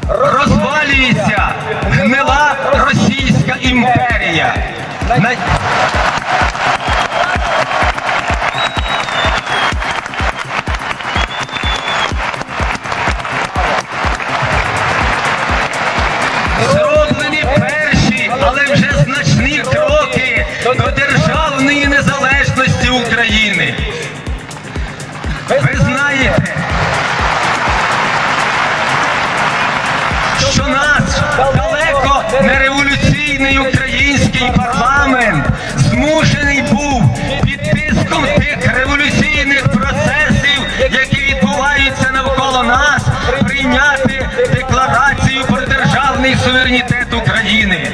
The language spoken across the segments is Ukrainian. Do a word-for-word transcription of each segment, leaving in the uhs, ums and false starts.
розвалюється гнила Російська імперія. На... Зроблені перші, але вже значні кроки до державної незалежності України. Ви знаєте, що наш далеко не революційний український парламент змушений був під тиском тих революційних процесів, які відбуваються навколо нас, прийняти декларацію про державний суверенітет України.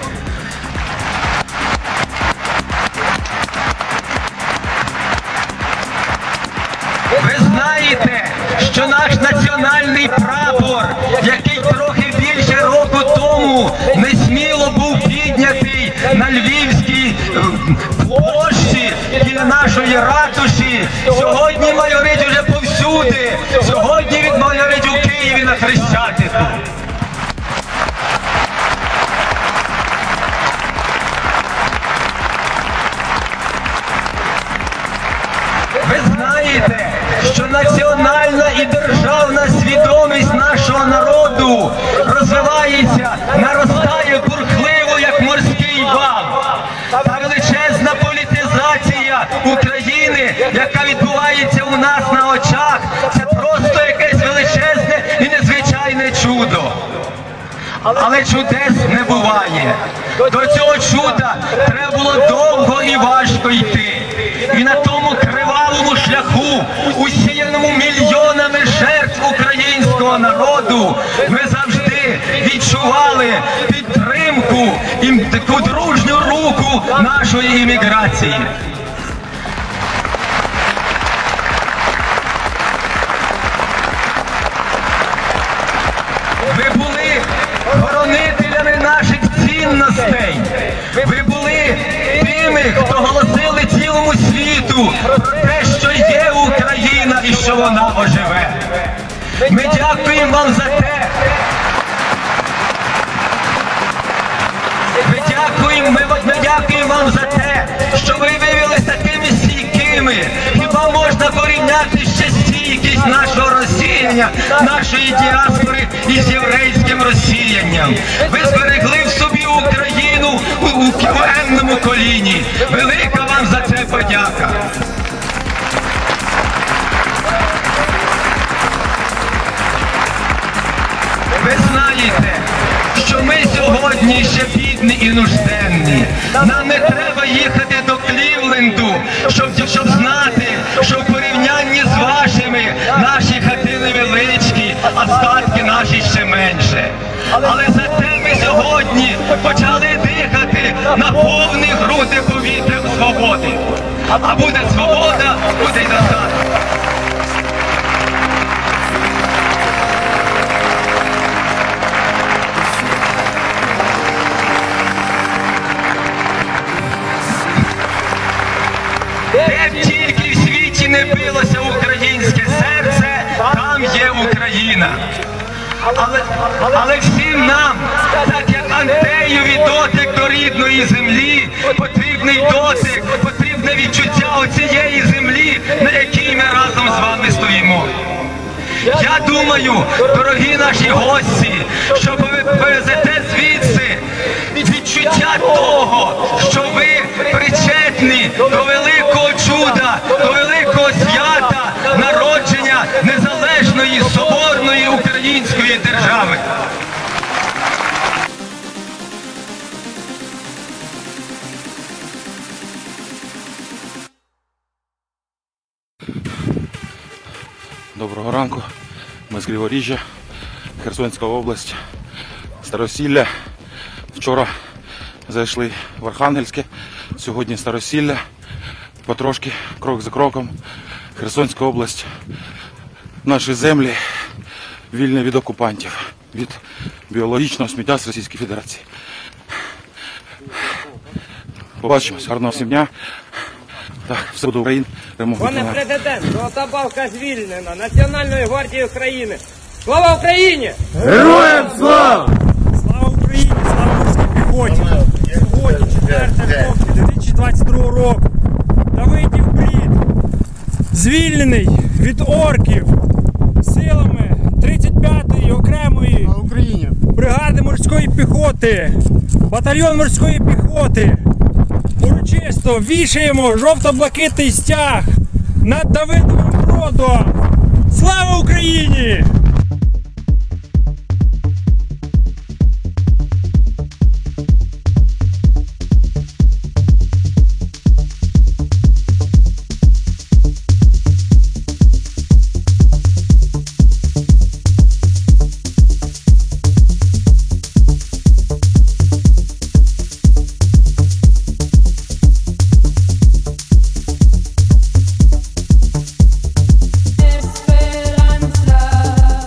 Ви знаєте, що наш національний прапор, який трохи більше року тому несміло був піднятий на Львівській площі біля нашої ратуші, сьогодні майорить уже повсюди, сьогодні він майорить у Києві на Хрещатику. Ви знаєте, що національна і державна свідомість нашого народу розвивається, наростає бурхливо, як морський вал. Та величезна політизація України, яка відбувається у нас на очах, це просто якесь величезне і незвичайне чудо. Але чудес не буває. До цього чуда треба було довго і важко йти. І на тому кривавому шляху, усіяному мільйонами жертв українського народу, ми завжди відчували підтримку і таку дружню руку нашої імміграції. Ви були хоронителями наших цінностей. Ви були тими, хто голосили цілому світу про те, що є Україна і що вона оживе. Ми дякуємо вам за те. Ми дякуємо, ми, ми дякуємо вам за те, що ви виявилися такими стійкими. Хіба можна порівняти ще стійкість нашого розсіяння, нашої діаспори із єврейським розсіянням? Ви зберегли в собі Україну у, у, у енному коліні. Велика вам за це подяка. Ви знаєте, що ми сьогодні ще бідні і нужденні. Нам не треба їхати до Клівленду, щоб, щоб знати, що в порівнянні з вашими наші хатини величкі, а статки наші ще менше. Але зате ми сьогодні почали дихати на повні груди повітря свободи. А буде свобода, буде й достаток. Де б тільки в світі не билося українське серце, там є Україна. Але, але всім нам, так як Антеєві дотик до рідної землі, потрібний дотик, потрібне відчуття оцієї землі, на якій ми разом з вами стоїмо. Я думаю, дорогі наші гості, що ви повезете звідси відчуття того, що ви причетні до великого чуда, до великого свята народження незалежної, соборної української держави. Доброго ранку. Ми з Криворіжжя, Херсонська область, Старосілля. Вчора зайшли в Архангельське, сьогодні Старосілля. Потрошки, крок за кроком, Херсонська область, наші землі вільні від окупантів, від біологічного сміття з Російської Федерації. Побачимось, гарного всім дня. Так, все буде Україна. Пане президент, золота балка звільнена Національною гвардією України. Слава Україні! Героям слава! Слава Україні! Слава морській піхоті! Сьогодні, четверте жовтня дві тисячі двадцять другого року, Давидів Брід звільнений від орків силами тридцять п'ятої окремої бригади морської піхоти, батальйон морської піхоти. Урочисто вішаємо жовто-блакитний стяг над Давидовим Бродом. Слава Україні! Esperanza.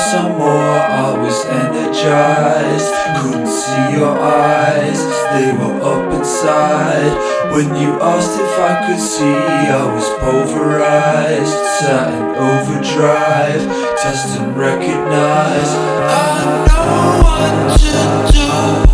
some more, I was energized. Couldn't see your eyes, they were up inside. When you asked if I could see, I was pulverized. Sat in overdrive, test and recognize. I know what to do.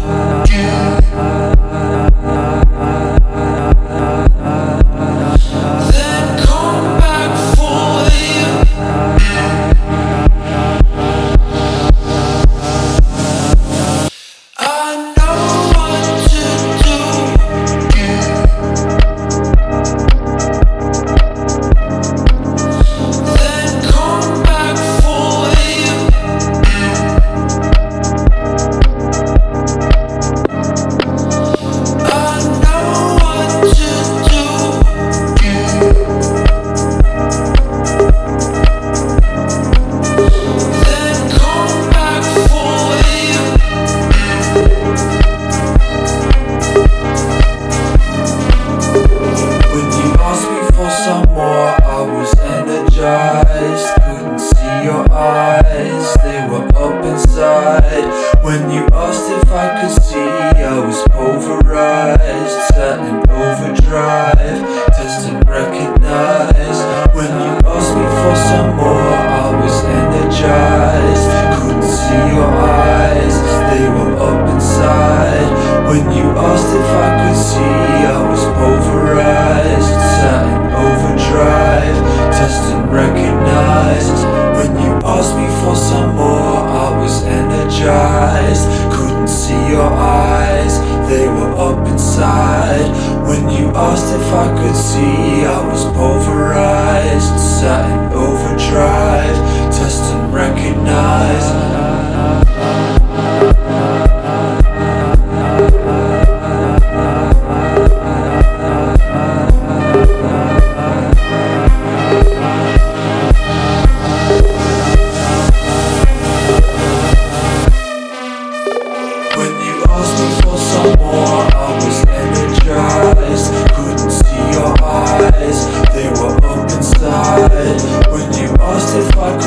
Couldn't see your eyes, they were up inside. When you asked if I could see, I was pulverized. Sat in overdrive, test and recognize. When you asked me for some more, I was energized. Couldn't see your eyes, they were up inside. When you asked if I could see, I was pulverized. Sat in overdrive, test and recognize. When you asked me for some more, I was energized. Couldn't see your eyes, they were up inside. When you asked if I could see, I was pulverized. Sat in overdrive, test and recognize. Couldn't see your eyes, they were up inside. When you asked if I could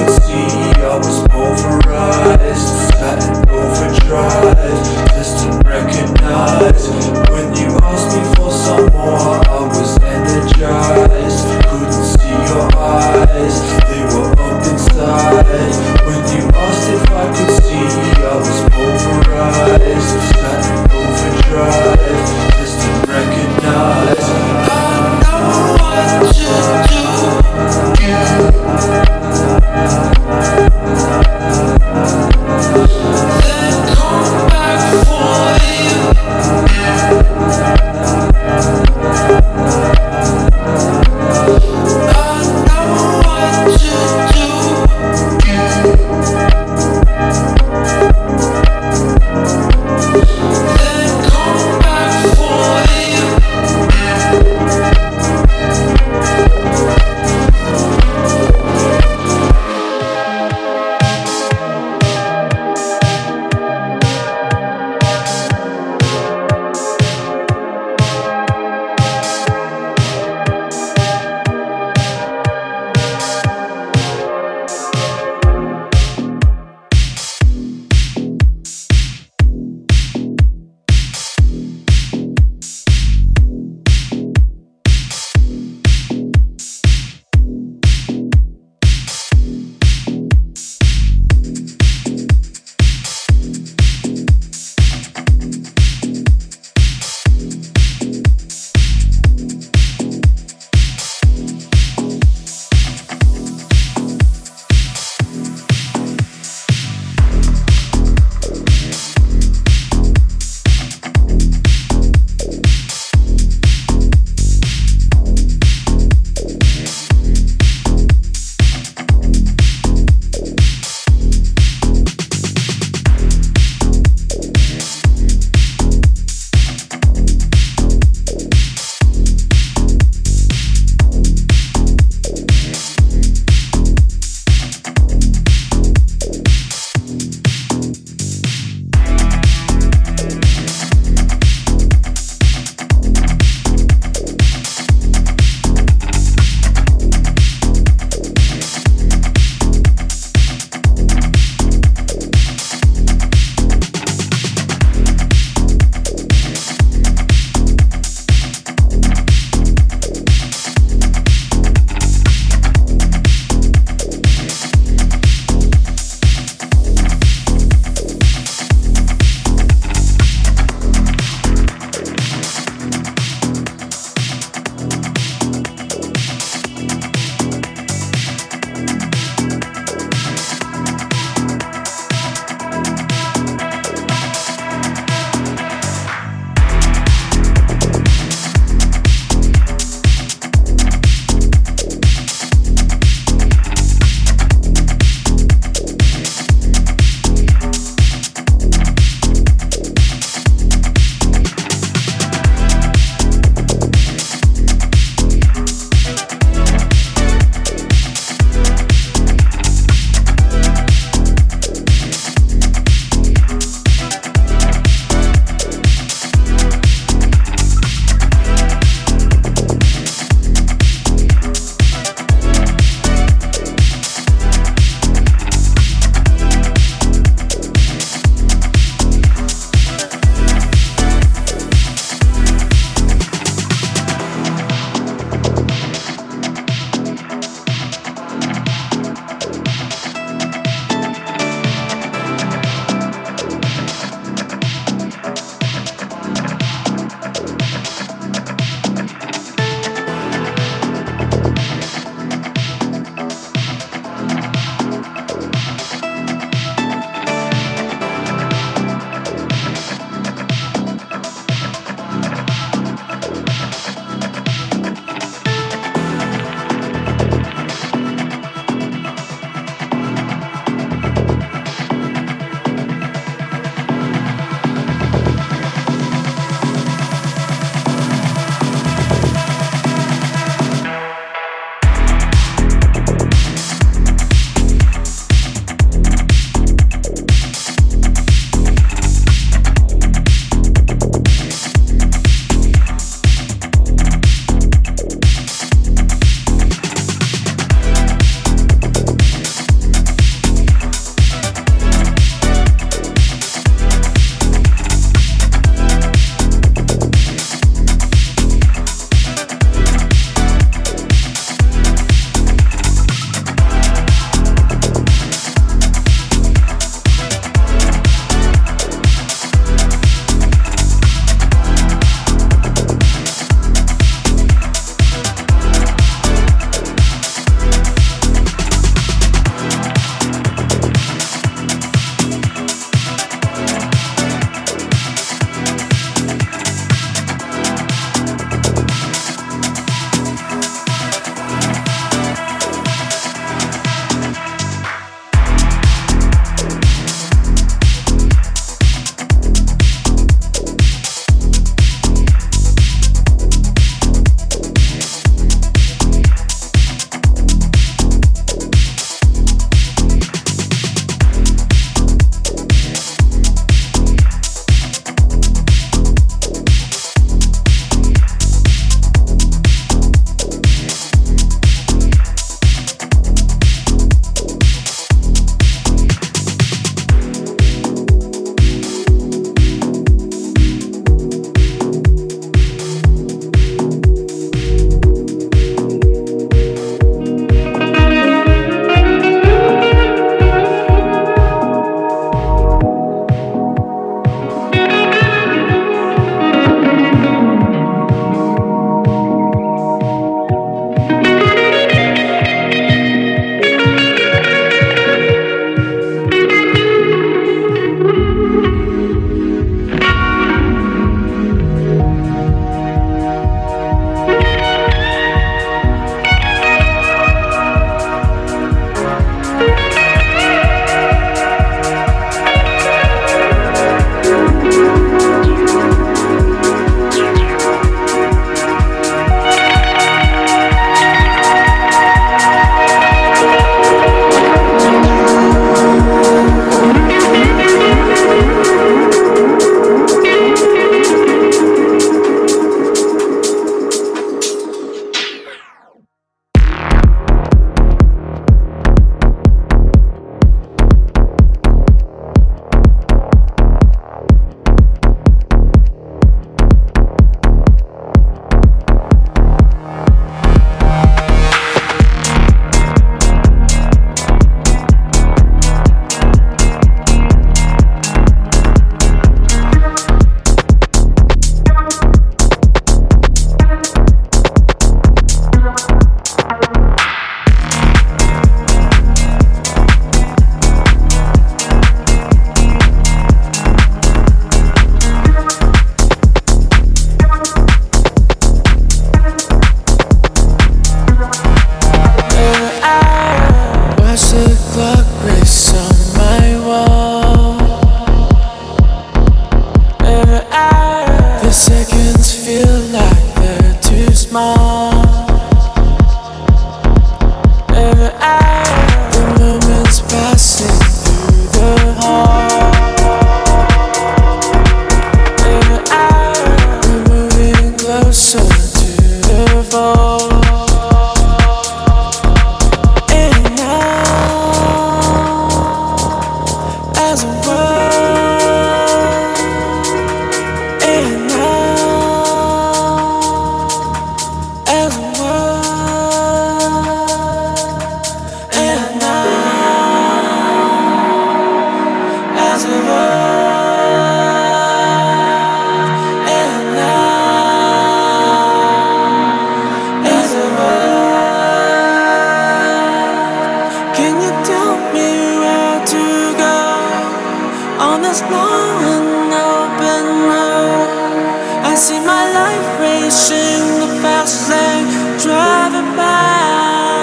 this long and open road, I see my life racing the fast lane, driving by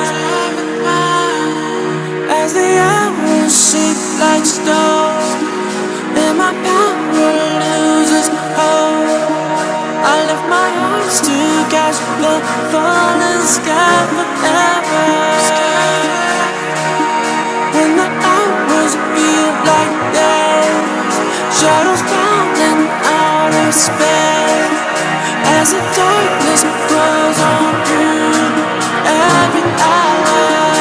as the hours sink like stone, and my power loses hope. I lift my arms to catch the falling sky forever. When the hours feel like days, shadows falling out of space, as the darkness grows on through every hour.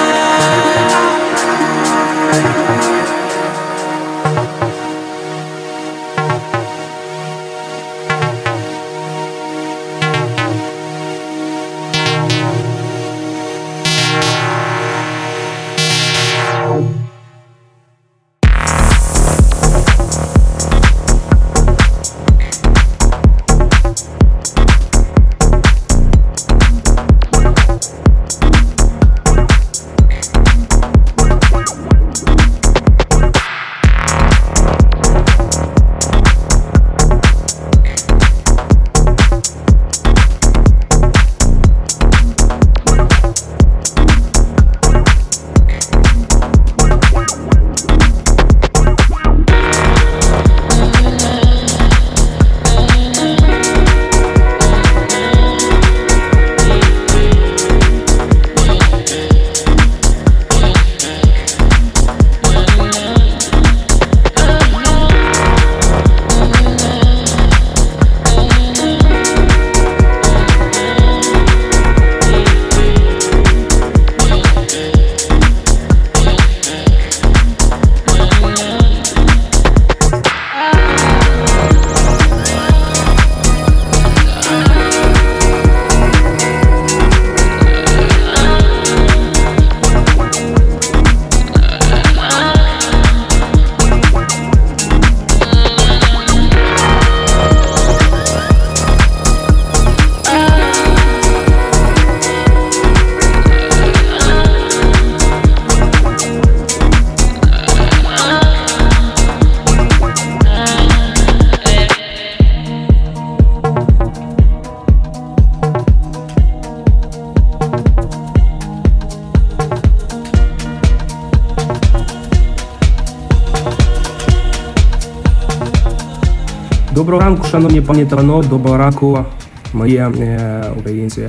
Доброго ранку, шановні пані та панове, доброго ранку, мої е, українці.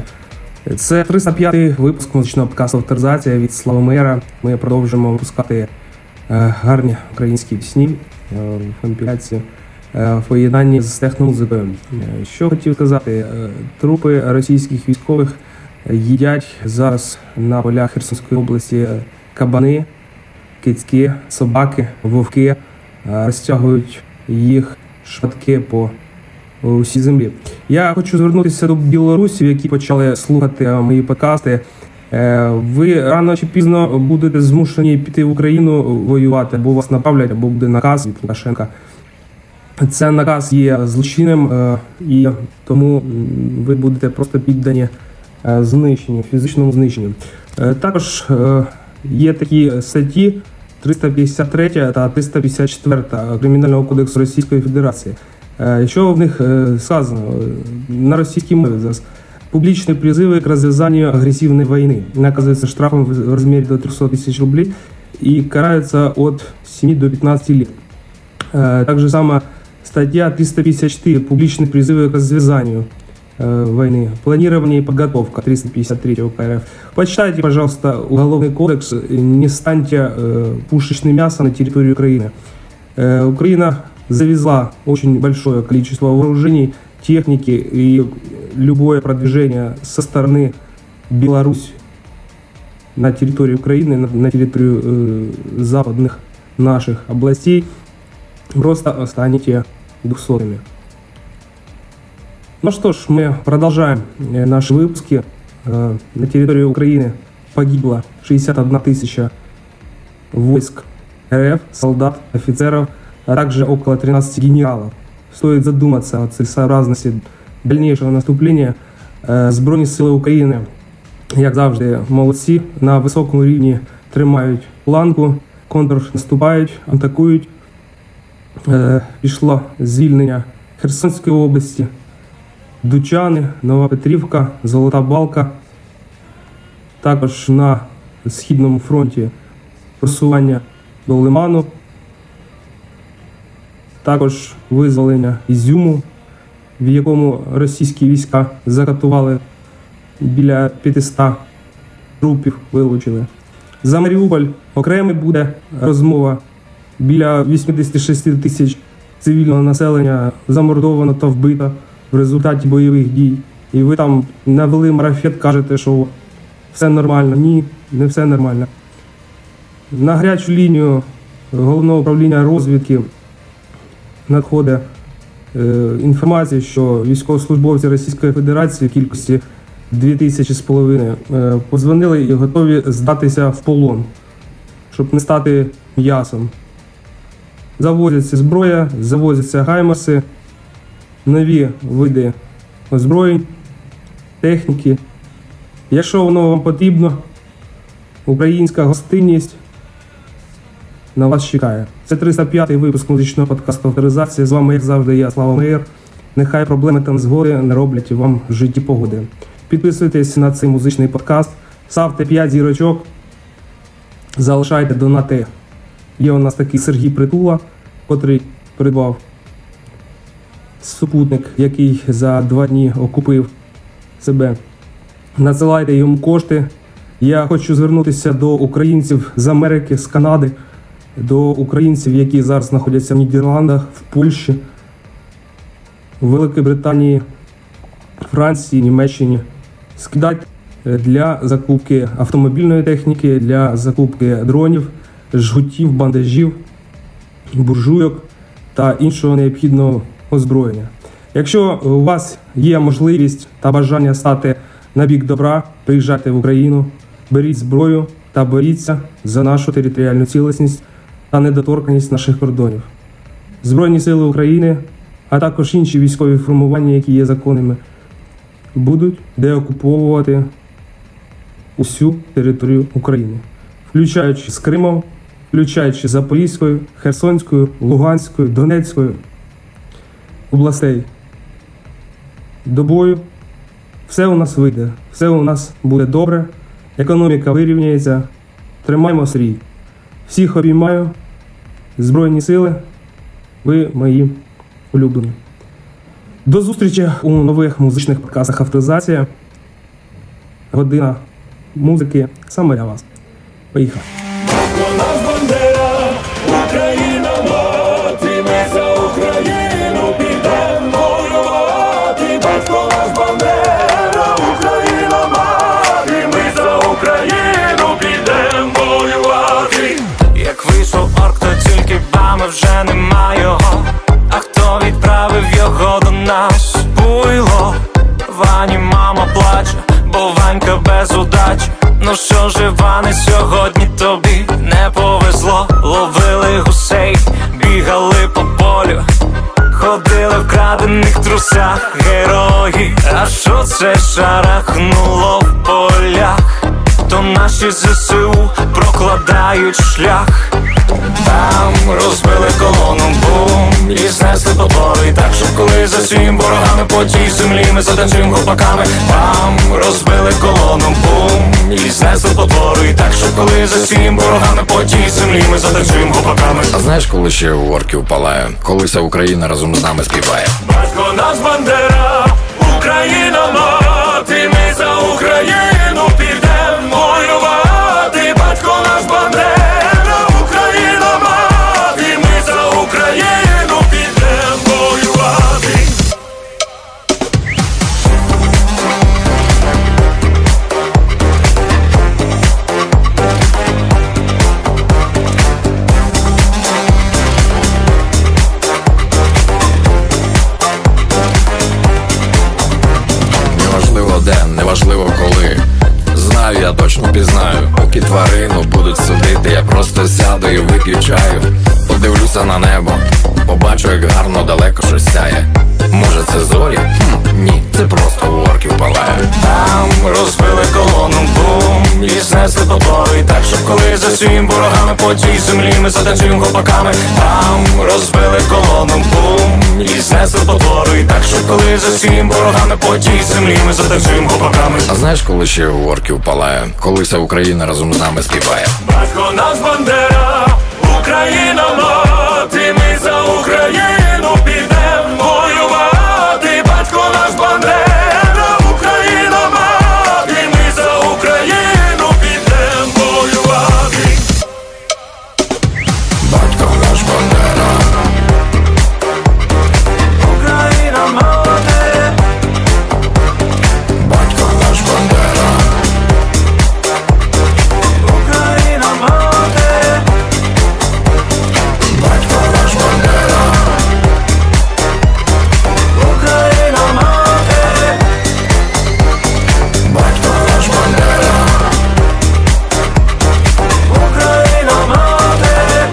Це триста п'ятий випуск музичного подкасту «Авторизація» від Славомира. Ми продовжуємо випускати е, гарні українські пісні е, в компіляції е, в поєднанні з техномузикою. Е, що хотів сказати, е, трупи російських військових їдять зараз на полях Херсонської області кабани, кицьки, собаки, вовки, е, розтягують їх шматки по усій землі. Я хочу звернутися до білорусів, які почали слухати мої подкасти. Ви рано чи пізно будете змушені піти в Україну воювати, або вас направлять, або буде наказ від Лукашенка. Це наказ є злочинним, і тому ви будете просто піддані знищенню, фізичному знищенню. Також є такі статті триста п'ятдесят три та триста п'ятдесят чотири Кримінального кодексу Російської Федерації. Що в них сказано на російській мові зараз? Публічні призиви к розв'язанню агресивної війни наказується штрафом в розмірі до триста тисяч рублей і карається від семи до пятнадцати лет. Также сама стаття триста п'ятдесят чотири «Публичные призывы к развязанию войны. Планирование и подготовка» триста пятьдесят три УК РФ. Почитайте, пожалуйста, Уголовный кодекс, не станьте пушечным мясом на территории Украины. Украина завезла очень большое количество вооружений, техники, и любое продвижение со стороны Беларуси на территории Украины, на, на территорию э, западных наших областей, просто станете двухсотыми. Ну что ж, мы продолжаем наши выпуски. Э, на территории Украины погибло шестьдесят одна тысяча войск РФ, солдат, офицеров, а также около тринадцати генералов. Стоит задуматься о целесообразности дальнейшего наступлення. Збройні сили України, як завжди, молодці, на високому рівні тримають планку, контрнаступають, атакують. е, пішло звільнення Херсонської області, Дучани, Нова Петрівка, Золота Балка. Також на Східному фронті просування до Лиману. Також визволення Ізюму, в якому російські війська закатували біля п'ятисот трупів, вилучили. За Маріуполь окремо буде розмова. Біля вісімдесят шість тисяч цивільного населення замордовано та вбито в результаті бойових дій. І ви там навели марафет, кажете, що все нормально. Ні, не все нормально. На гарячу лінію Головного управління розвідки надходить е, інформація, що військовослужбовці Російської Федерації в кількості дві тисячі з половиною е, подзвонили і готові здатися в полон, щоб не стати м'ясом. Завозяться зброя, завозяться гаймерси, нові види озброєнь, техніки. Якщо воно вам потрібно, українська гостинність на вас чекає. Це триста п'ятий випуск музичного подкасту «Авторизація». З вами, як завжди, я, Слава Меєр. Нехай проблеми та незгоди не роблять вам в житті погоди. Підписуйтесь на цей музичний подкаст, ставте п'ять зірочок, залишайте донати. Є у нас такий Сергій Притула, котрий придбав супутник, який за два дні окупив себе. Надсилайте йому кошти. Я хочу звернутися до українців з Америки, з Канади, до українців, які зараз знаходяться в Нідерландах, в Польщі, в Великій Британії, Франції, Німеччині. Скидайте для закупки автомобільної техніки, для закупки дронів, жгутів, бандажів, буржуйок та іншого необхідного озброєння. Якщо у вас є можливість та бажання стати на бік добра, приїжджайте в Україну, беріть зброю та боріться за нашу територіальну цілісність та недоторканність наших кордонів. Збройні сили України, а також інші військові формування, які є законними, будуть деокуповувати усю територію України, включаючи з Кримом, включаючи Запорізькою, Херсонською, Луганською, Донецькою областей. До бою все у нас вийде, все у нас буде добре, економіка вирівняється, тримаймо стрій. Всіх обіймаю, Збройні сили, ви мої улюблені. До зустрічі у нових музичних подкастах «Авторизація». Година музики саме для вас. Поїхали. Україна мати, ми за Україну підемо воювати. Батько наш Бандера, Україна мати, ми за Україну підемо воювати. Як вийшов орк, то тільки бами вже нема його. А хто відправив його до нас? Буйло. Вані мама плаче, бо Ванька без удачі. Ну що ж, Іване, сьогодні тобі не повезло. Ловили гусей, бігали по полю, ходили в крадених трусах герої. А що це шарахнуло в полях? То наші ЗСУ прокладають шлях. Там розбили колону, бум, і знесли потвори. Так, щоб коли за всім ворогами по тій землі ми затанцюємо гопаками. Там розбили колону, бум, і знесли потвори. Так, щоб коли за всім ворогами по тій землі ми затанцюємо гопаками. А знаєш, коли ще у орків палає, коли вся Україна разом з нами співає? Батько наш Бандера, Україна мати, ми за Україну підемо воювати. Батько наш Бандера, Україна мати, ми за Україну підемо воювати. Неважливо де, неважливо коли. Знаю, я точно пізнаю. Поки тварину будуть судити, я просто сяду і вип'ю чаю. Подивлюся на небо, побачу, як гарно далеко щось сяє. Може це зорі? Хм, ні, це просто у орків палає. Там розбили колону, бум, і знесли потвори. Так, щоб коли за всім ворогами по тій землі ми затанцюємо хлопаками. Там розбили колону, бум, і знесли потвори. Так, щоб коли за всім ворогами по тій землі ми затанцюємо хлопаками. А знаєш, коли ще у орків палає, коли вся Україна разом з нами співає? Батько наш Бандера, Україна мати, ми за Україну підем воювати. Батько наш Бандера, Україна мати, ми за Україну підем воювати. Батько наш Бандера, Україна мати, батько наш Бандера, Україна мати, батько наш Бандера, Україна мати, батько наш Бандера, Україна мати.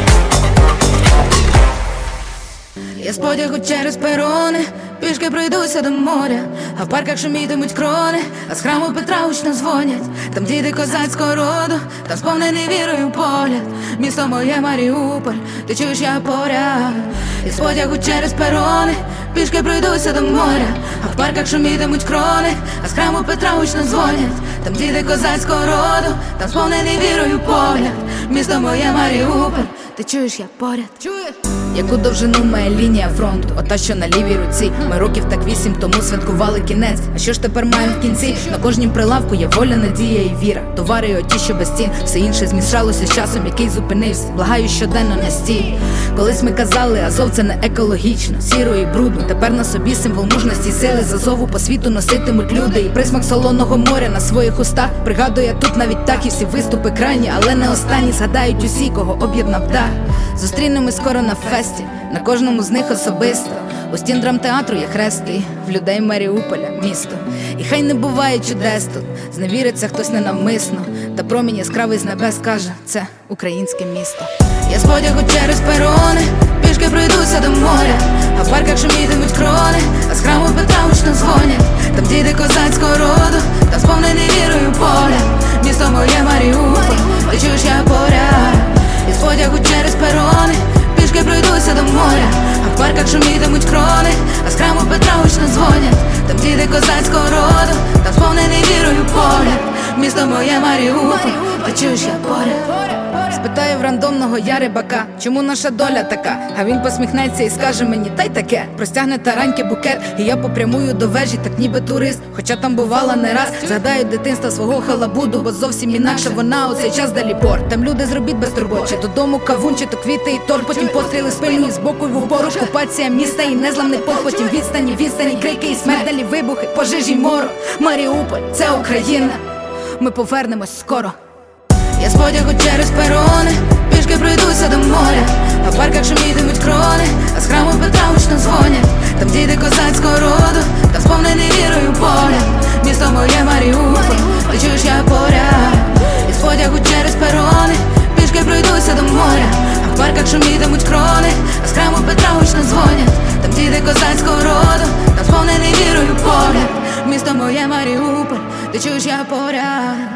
Я з потягу через перони, пішки пройдуся до моря, а в парках шумітимуть крони, а з храму Петра гучно дзвонять. Там діти козацького роду, там сповнений вірою погляд. Місто моє Маріуполь, ти чуєш, я поряд. Я з потягу через перони, пішки пройдуся до моря, а в парках шумітимуть крони, а з храму Петра гучно дзвонять. Там діти козацького роду, там сповнений вірою погляд. Місто моє Маріуполь, ти чуєш, я поряд. Чуєш? Яку довжину має лінія фронту, ота, що на лівій руці. Ми років так вісім тому святкували кінець. А що ж тепер маємо в кінці? На кожнім прилавку є воля, надія і віра. Товари оті, що без цін. Все інше змішалося з часом, який зупинився. Благаю щоденно на стій. Колись ми казали, Азов це не екологічно, сіро і брудно. Тепер на собі символ мужності, сили з Азову по світу носитимуть люди. І присмак солоного моря на своїх устах. Пригадую, тут навіть так і всі виступи крайні, але не останні. Згадають усі, кого об'єднав дах. Зустрінемось скоро на фесті, на кожному з них особисто. У стін драмтеатру є хрести, в людей Маріуполя місто. І хай не буває чудес тут, зневіриться хтось ненавмисно. Та промінь яскравий з небес каже, це українське місто. Я з потягу через перони, пішки пройдуся до моря, а в парках шумітимуть крони, а з храму Петра гучно дзвонять. Там діти козацького роду, там сповнений вірою погляд. Місто моє Маріуполь, ти чуєш, я поряд. І з потягу через перони, пішки пройдуся до моря, а в парках шумітимуть крони, а з храму Петра гучно дзвонять. Там діти козацького роду, там сповнений вірою погляд. Місто моє Маріуполь, ти чуєш, я поряд. Спитаю в рандомного я рибака, чому наша доля така? А він посміхнеться і скаже мені, та й таке. Простягне тараньки букет, і я попрямую до вежі, так ніби турист. Хоча там бувала не раз. Згадаю дитинства свого халабуду, бо зовсім інакше вона у цей час далі порт. Там люди зробіть без турбот, чи додому кавун, чи то квіти і торт. Потім постріли спильні з боку й в упор. Окупація міста і незламний полк. Потім відстані, відстані, крики і смерть, далі вибухи, пожежі й морок. Маріуполь, це Україна, ми повернемось скоро. Я з потягу через перони, пішки пройдуся до моря, а в парках шумітимуть крони, а з храму Петра гучно дзвонять. Там діти козацького роду, там сповнений вірою погляд. Місто моє Маріуполь, ти чуєш, я поряд. І з потягу через перони, пішки пройдуся до моря, а в парках шумітимуть крони, а з храму Петра гучно дзвонять. Там діти козацького роду, там сповнений вірою погляд. Місто моє Маріуполь, ти чуєш, я поряд.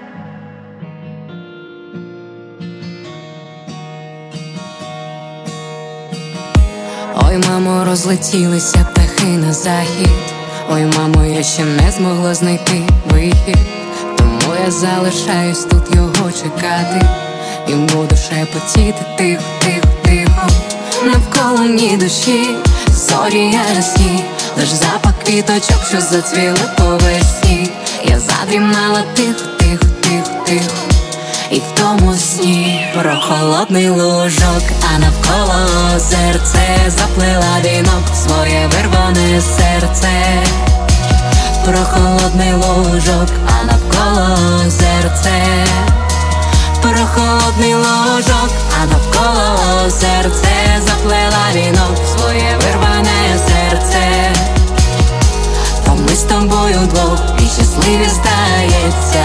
Ой, мамо, розлетілися птахи на захід. Ой, мамо, я ще не змогла знайти вихід. Тому я залишаюсь тут його чекати. І буду шепотіти тихо, тихо, тихо. Навколо ні душі, зорі ясні, лиш запах квіточок, що зацвіли по весні. Я задрімала тихо, тихо, тихо, тихо. І в тому сні про холодний лужок, а навколо озерце заплила вінок в своє вирване серце. Про холодний лужок, а навколо озерце. Про холодний лужок, а навколо озерце заплила вінок в своє вирване серце. То ми з тобою вдвох і щасливі здається.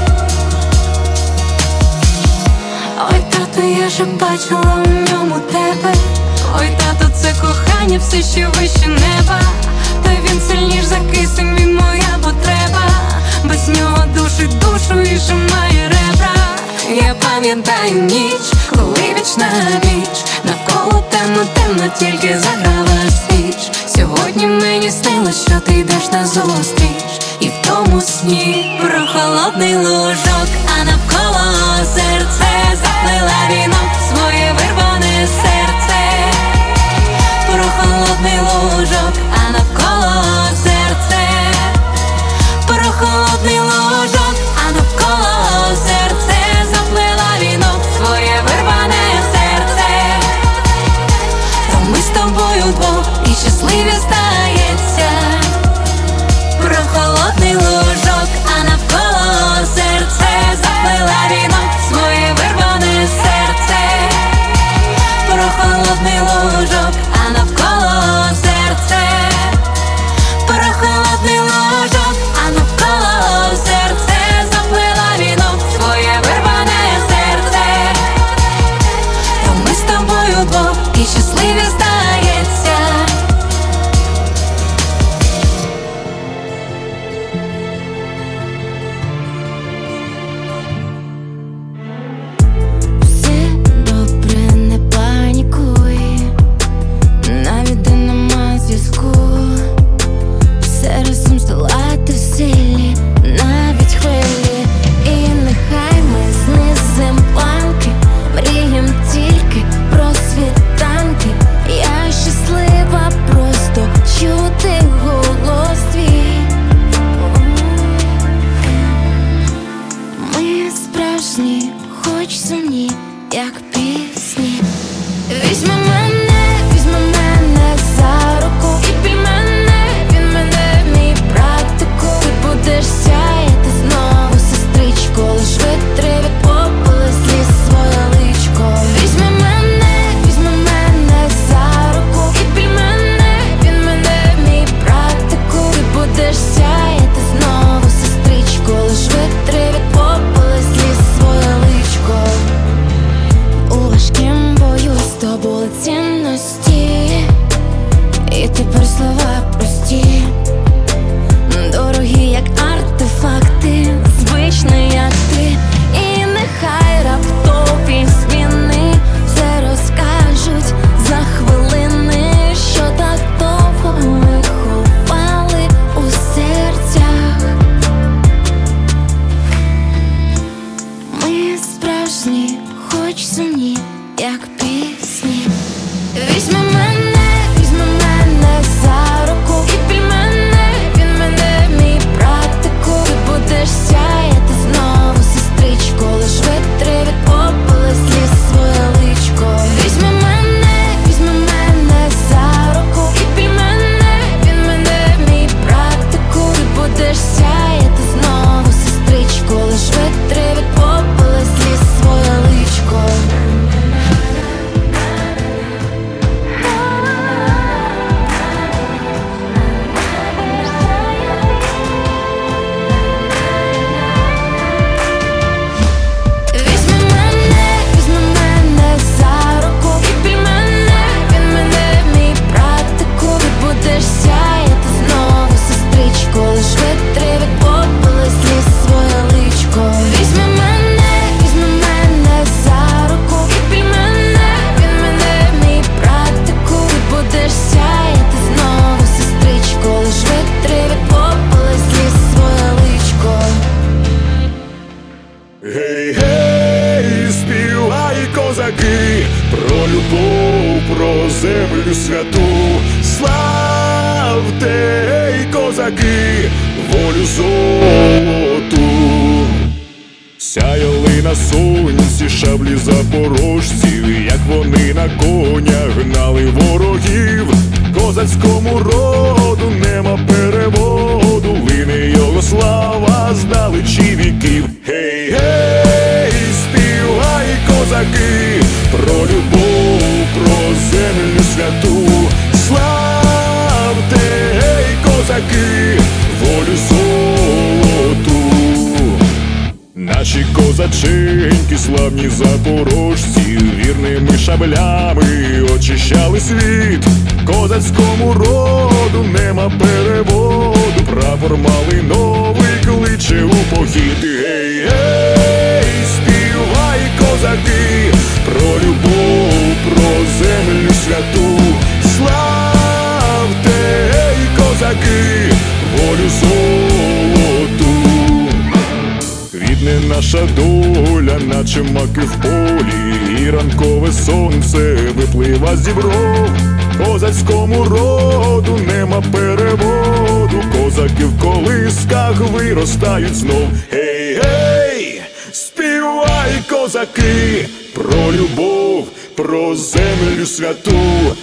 Ой, тату, я же бачила у ньому тебе. Ой, тату, це кохання все ще вище неба. Та він сильніш за кисень, він моя потреба. без нього душить душу і шимає ребра. Я пам'ятаю ніч, коли віч на віч, навколо темно, темно, тільки заграла свіч. Сьогодні мені снилось, що ти йдеш назустріч, і в тому сні про холодний лужок, а навколо серце заплила вінок, своє вирване серце. Про холодний лужок, а навколо серце. Про холодний лужок, а навколо серце заплила вінок, своє вирване серце. То ми з тобою вдвох і щасливі стається. Про холодний лужок, а навколо серце заплила вінок, своє вирване серце. Про холодний лужок, а навколо серце. Про холодний лужок, а навколо серце заплила вінок, своє вирване серце. То ми з тобою вдвох і щасливі стається. Все добре, не панікуй, навіть де нема зв'язку. Все разом здолати в силі, навіть хвилі. І нехай ми знизим планки, мрієм тільки про світанки. Я щаслива просто чути голос твій. Ми справжні, хоч сумні, як пісні. Візьми мене, візьми мене за руку і пій мене, він мене, мій практику. Ти будеш сяяти знову, сестричко, лиш витри від попелу сліз своє личко. Візьми мене, візьми мене за руку і пій мене, він мене, мій практику. Ти будеш сяяти знову, сестричко, лиш витри від попелу сліз своє личко. У важкім бою здобули цінності, і тепер слова прості, дорогі, як артефакти, звичні, як ти. І нехай раптові зміни все розкажуть за хвилини, що так довго ми ховали у серцях. Ми справжні, хоч сумні, як пісні. Візьми мене, візьми мене за руку і пій мене, він мене, мій практику. Ти будеш сяяти знову, сестричко, лиш витри від попелу сліз своє личко. Візьми мене, візьми мене за руку і пій мене, він мене, мій практику. Ти будеш сяяти знову, сестричко, лиш витри від попелу сліз своє личко. Візьми мене, візьми мене за руку і пій мене, він мене, мій практику. Ти будеш сяяти знову, сестричко, лиш витри від попелу сліз своє личко. Візьми мене, візьми мене за руку і пій мене, він мене, мій практику. Ти будеш сяяти знову, сестричко, лиш витри від попелу сліз своє личко. Гей, гей, співай, козаки, про любов, про землю святу. Славте, гей, козаки, волю золоту. Сяяли на сонці шаблі запорожців, як вони на конях гнали ворогів. Козацькому роду нема переводу, лине його слава здалечі віків. Гей, гей, співай, козаки, про любов, про землю святу. Славте, гей, козаки, волю золоту. Наші козаченьки, славні запорожці, вірними шаблями очищали світ. Козацькому роду нема переводу, прапор малиновий кличе у похід. Гей, гей, співай, козаки, про любов, про землю святу. Славте, гей, козаки, волю золоту. Квітне наша доля, наче маки в полі, і ранкове сонце виплива зі бров. Козацькому роду нема переводу, козаки в колисках виростають знов. Гей, гей, співай, козаки, про любов, про землю святу.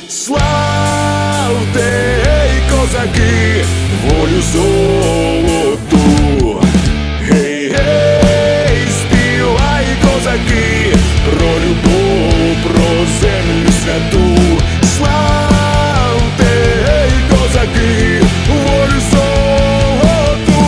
Славте, гей, козаки, волю золоту. Гей, гей, співай, козаки, про любов, про землю святу. Славте, гей, козаки, волю золоту.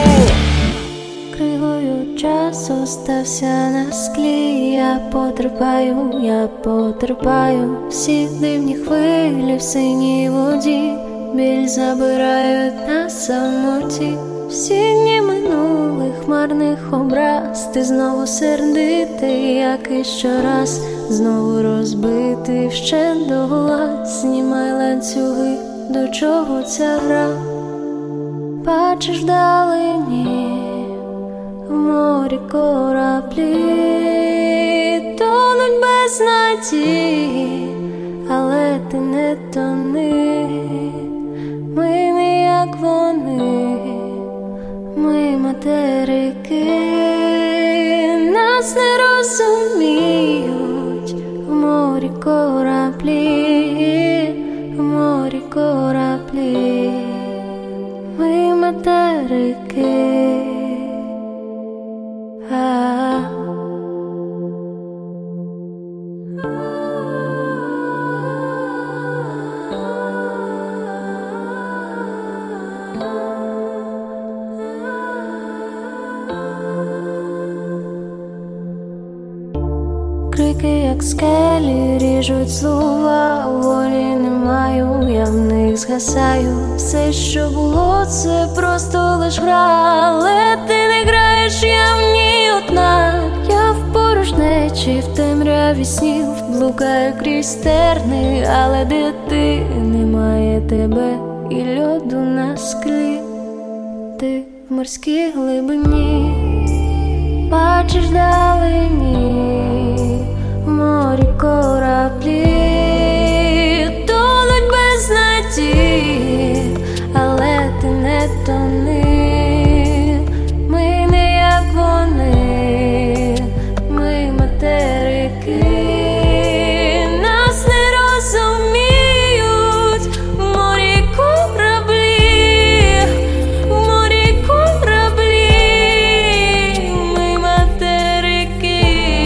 Кривою час остався на склі. Я потерпаю, я потерпаю всі дивні хвилі в синій воді. Біль забирають на самоті. Всі дні минулих марних образ. Ти знову сердитий, як і щораз. Знову розбитий вщент догола. Знімай ланцюги, до чого ця гра? Бачиш вдалині в морі кораблі, тонуть без надії, але ти не тони. Ми не як вони, ми материки, нас не розуміють. В морі кораблі, в морі кораблі, ми материки. А-а-а. Крики, як скелі, ріжуть слова. Волі не маю, я в них згасаю. Все, що було, це просто лиш гра. Але ти не граєш, я в ній одна. Я в порожнечі, в темряві снів блукаю крізь терни. Але де ти, немає тебе і льоду на склі. Ти в морській глибині, бачиш вдалині в морі кораблі, тонуть без надії, але ти не тони. Ми не як вони, ми материки, нас не розуміють. В морі кораблі, в морі кораблі, ми материки.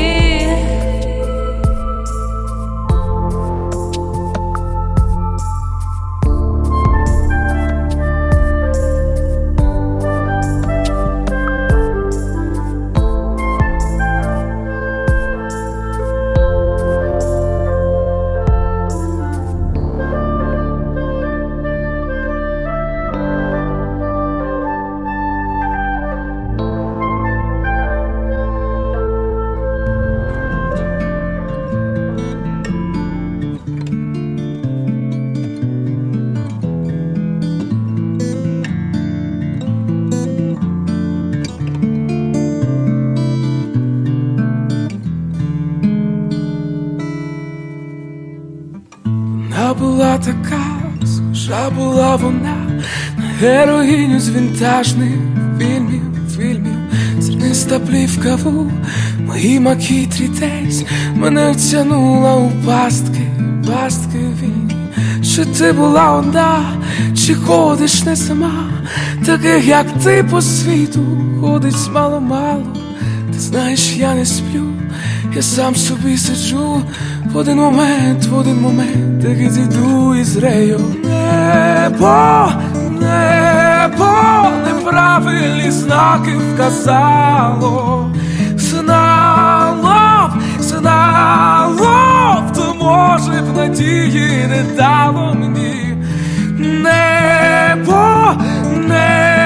Вона була така, схожа була вона на героїню з вінтажних фільмів, фільмів. Зерниста плівка в моїй макітрі десь мене втягнула у пастки, пастки вільні. Чи ти була одна, чи ходиш не сама? Таких, як ти, по світу ходить мало-мало. Ти знаєш, я не сплю, я сам собі сиджу. В один момент, в один момент, так і зійду із рею. Небо, небо, неправильні знаки вказало. Знало б, знало б, то може б надії не дало мені. Небо, небо,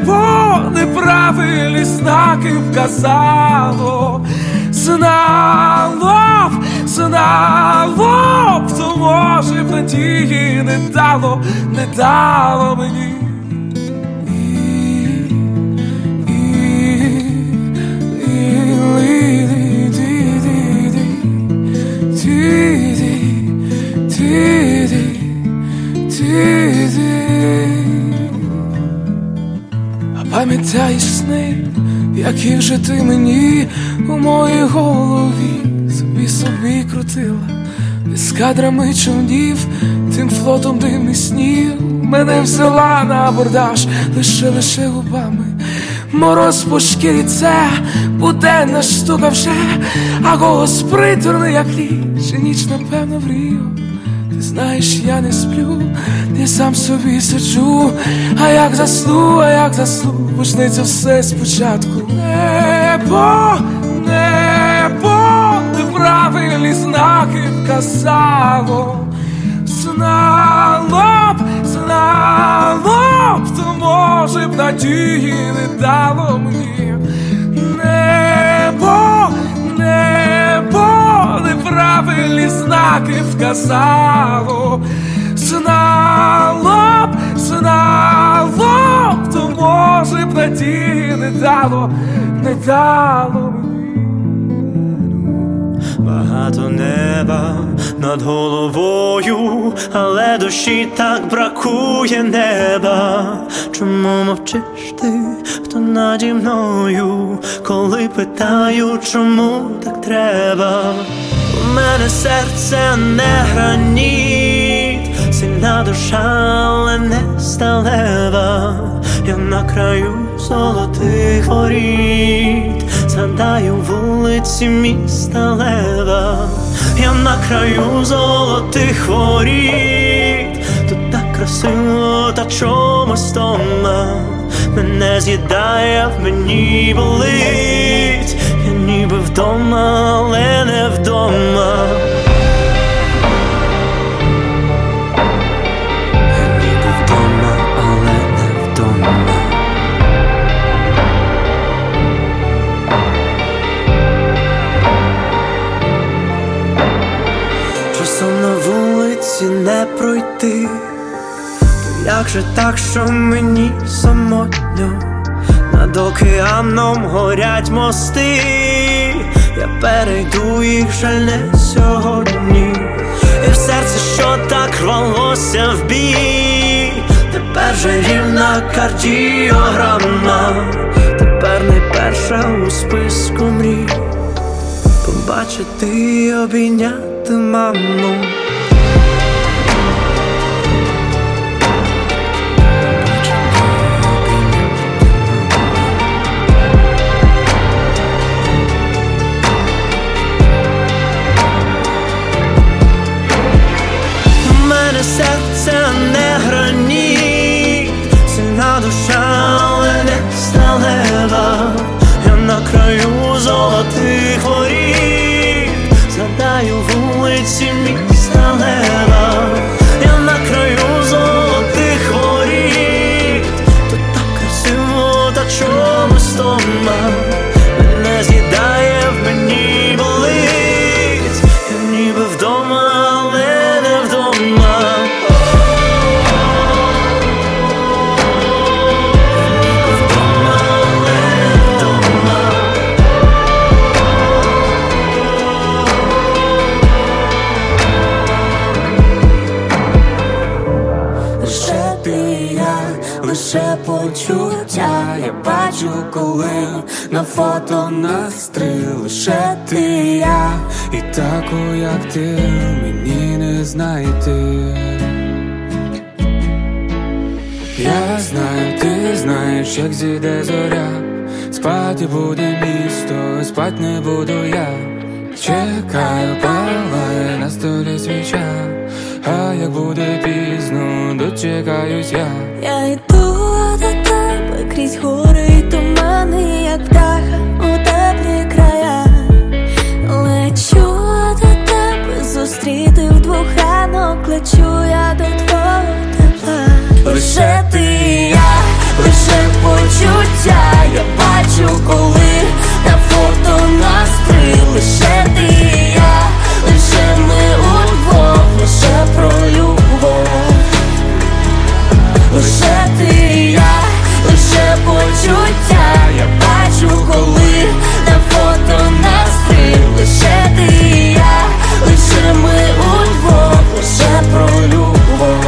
Небо неправильні знаки вказало, знало б, знало б, то може б надії не дало, не дало мені. А пам'ятаєш сни, які вже ти мені у моїй голові собі собі крутила, з кадрами човнів, тим флотом димних снів. Мене взяла на абордаж лише, лише губами. Мороз по шкірі, це буденна штука вже, а голос приторний, як ліч, і ніч, напевно, врію. Ти знаєш, я не сплю, я сам собі сиджу, а як засну, а як засну, почнеться все спочатку. Небо, небо, неправильні знаки вказало, знало б, знало б, то може б надії не дало мені. Небо, небо, неправильні знаки вказало, знало б, знало б, то може б надії не дало, не дало мені. Багато неба над головою, але душі так бракує неба. Чому мовчиш ти, хто наді мною, коли питаю, чому так треба? У мене серце не граніт, сильна душа, але не сталева. Я на краю золотих воріт, згадаю вулиці міста Лева. Я на краю золотих воріт, тут так красиво, та чомусь дома мене з'їдає, в мені болить. Я ніби вдома, але не вдома. Не пройти, то як же так, що мені самотньо? Над океаном горять мости, я перейду їх, жаль, не сьогодні. І в серці, що так рвалося в бій, тепер же рівна кардіограма, тепер найперша у списку мрій побачити і обійняти маму. Серце не граніт, сильна душа, але не сталева. Я на краю золотих воріт, згадаю вулиці міста Лева. Я на краю золотих воріт, тут так красиво, та чомусь дома мене з'їдає, в мені болить. Я ніби вдома, але не вдома. Лише почуття я бачу, коли на фото настрій. Лише ти, я, і таку, як ти, мені не знайти. Я знаю, ти знаєш, як зійде зоря, спати буде місто, спать не буду я. Чекаю, палає на столі свіча, а як буде пізно, дочекаюсь я. Я йду до тебе крізь гори і тумани, як птаха у теплі края. Лечу до тебе, зустріти вдвох ранок, лечу я до твого тепла. Лише ти і я, лише по почуття я бачу, коли на фото нас три. Лише ти і я, лише ми удвох, лише про любов. Лише ти і я, лише почуття я бачу, коли на фото нас три. Лише ти і я, лише ми удвох, лише про любов.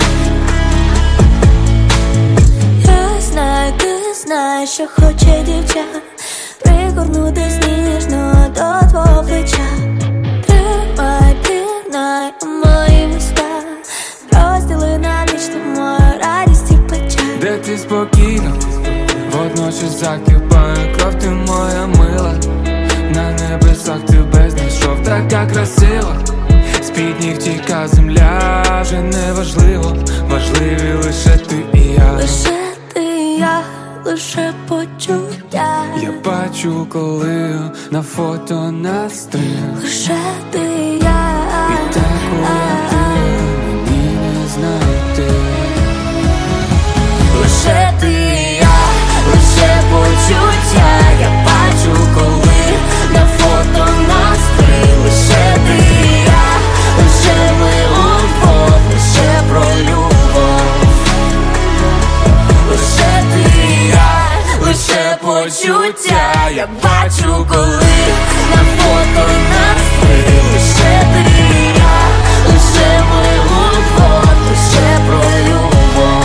Я знаю, ти знаєш, що хоче дівча, пригорнутись ніжно до твого плеча. Тримай, пірнай у мої міста, розділи на ніч ти мою радість і печаль. Де ти спокійно, водночас закипає кров, ти моя мила. На небесах тебе знайшов, така красива. З-під ніг тіка земля, вже не важливо, важливі лише ти і я. Лише ти і я, лише почуття Я бачу, коли на фото нас три. лише ти і я, і таку, як ти, мені не знайти. лише ти і я, лише почуття я бачу, коли на фото нас три. Лише ти і я, лише ми удвох, лише про любов. Лише ти і я, лише почуття я бачу, коли на фото нас три. Лише ти і я, лише ми удвох, лише про любов.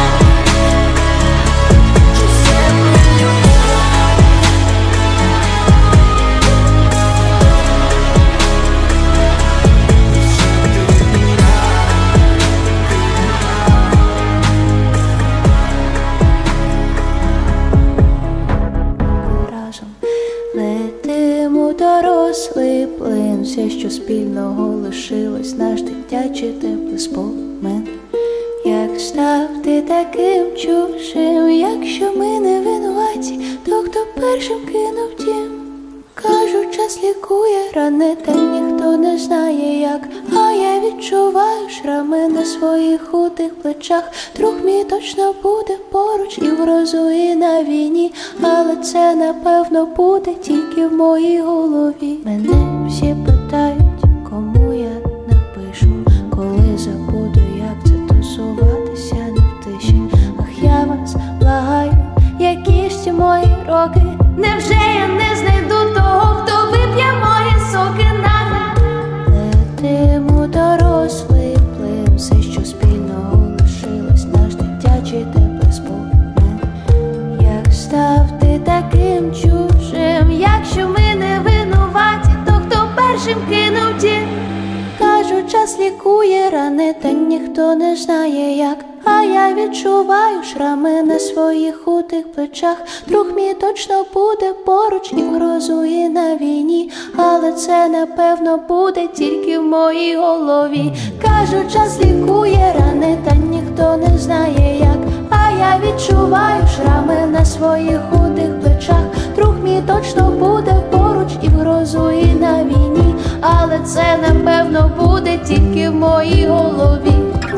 Летимо дорослий плин, все, що спільного лишилось, наш дитячий теплий спомин. Як став ти таким чужим, якщо ми не винуваті, то хто першим кинув дім? Кажуть, час лікує рани, та ніхто не знає як. А я відчуваю шрами на своїх худих плечах. Друг мій точно буде поруч і в грозу, і на війні. Але це напевно буде тільки в моїй голові. Мене всі питають, кому я напишу, коли забуду, як це тусуватися не в тиші. Ах, я вас благаю, які ж ці мої роки. Невже я не знайду того, хто вип'є мої соки навіть? Летимо дорослий плин, все, що спільного лишилось, наш дитячий теплий спомин. Як став ти таким чужим, якщо ми не винуваті, то хто першим кинув дім? Кажуть, час лікує рани, та ніхто не знає як. А я відчуваю шрами на своїх худих плечах. Друг мій точно буде поруч і в грозу, і на війні. Але це напевно буде тільки в моїй голові. Кажуть, час лікує рани, та ніхто не знає як. А я відчуваю шрами на своїх худих плечах. Друг мій точно буде поруч і в грозу, і на війні. Але це напевно буде тільки в моїй голові.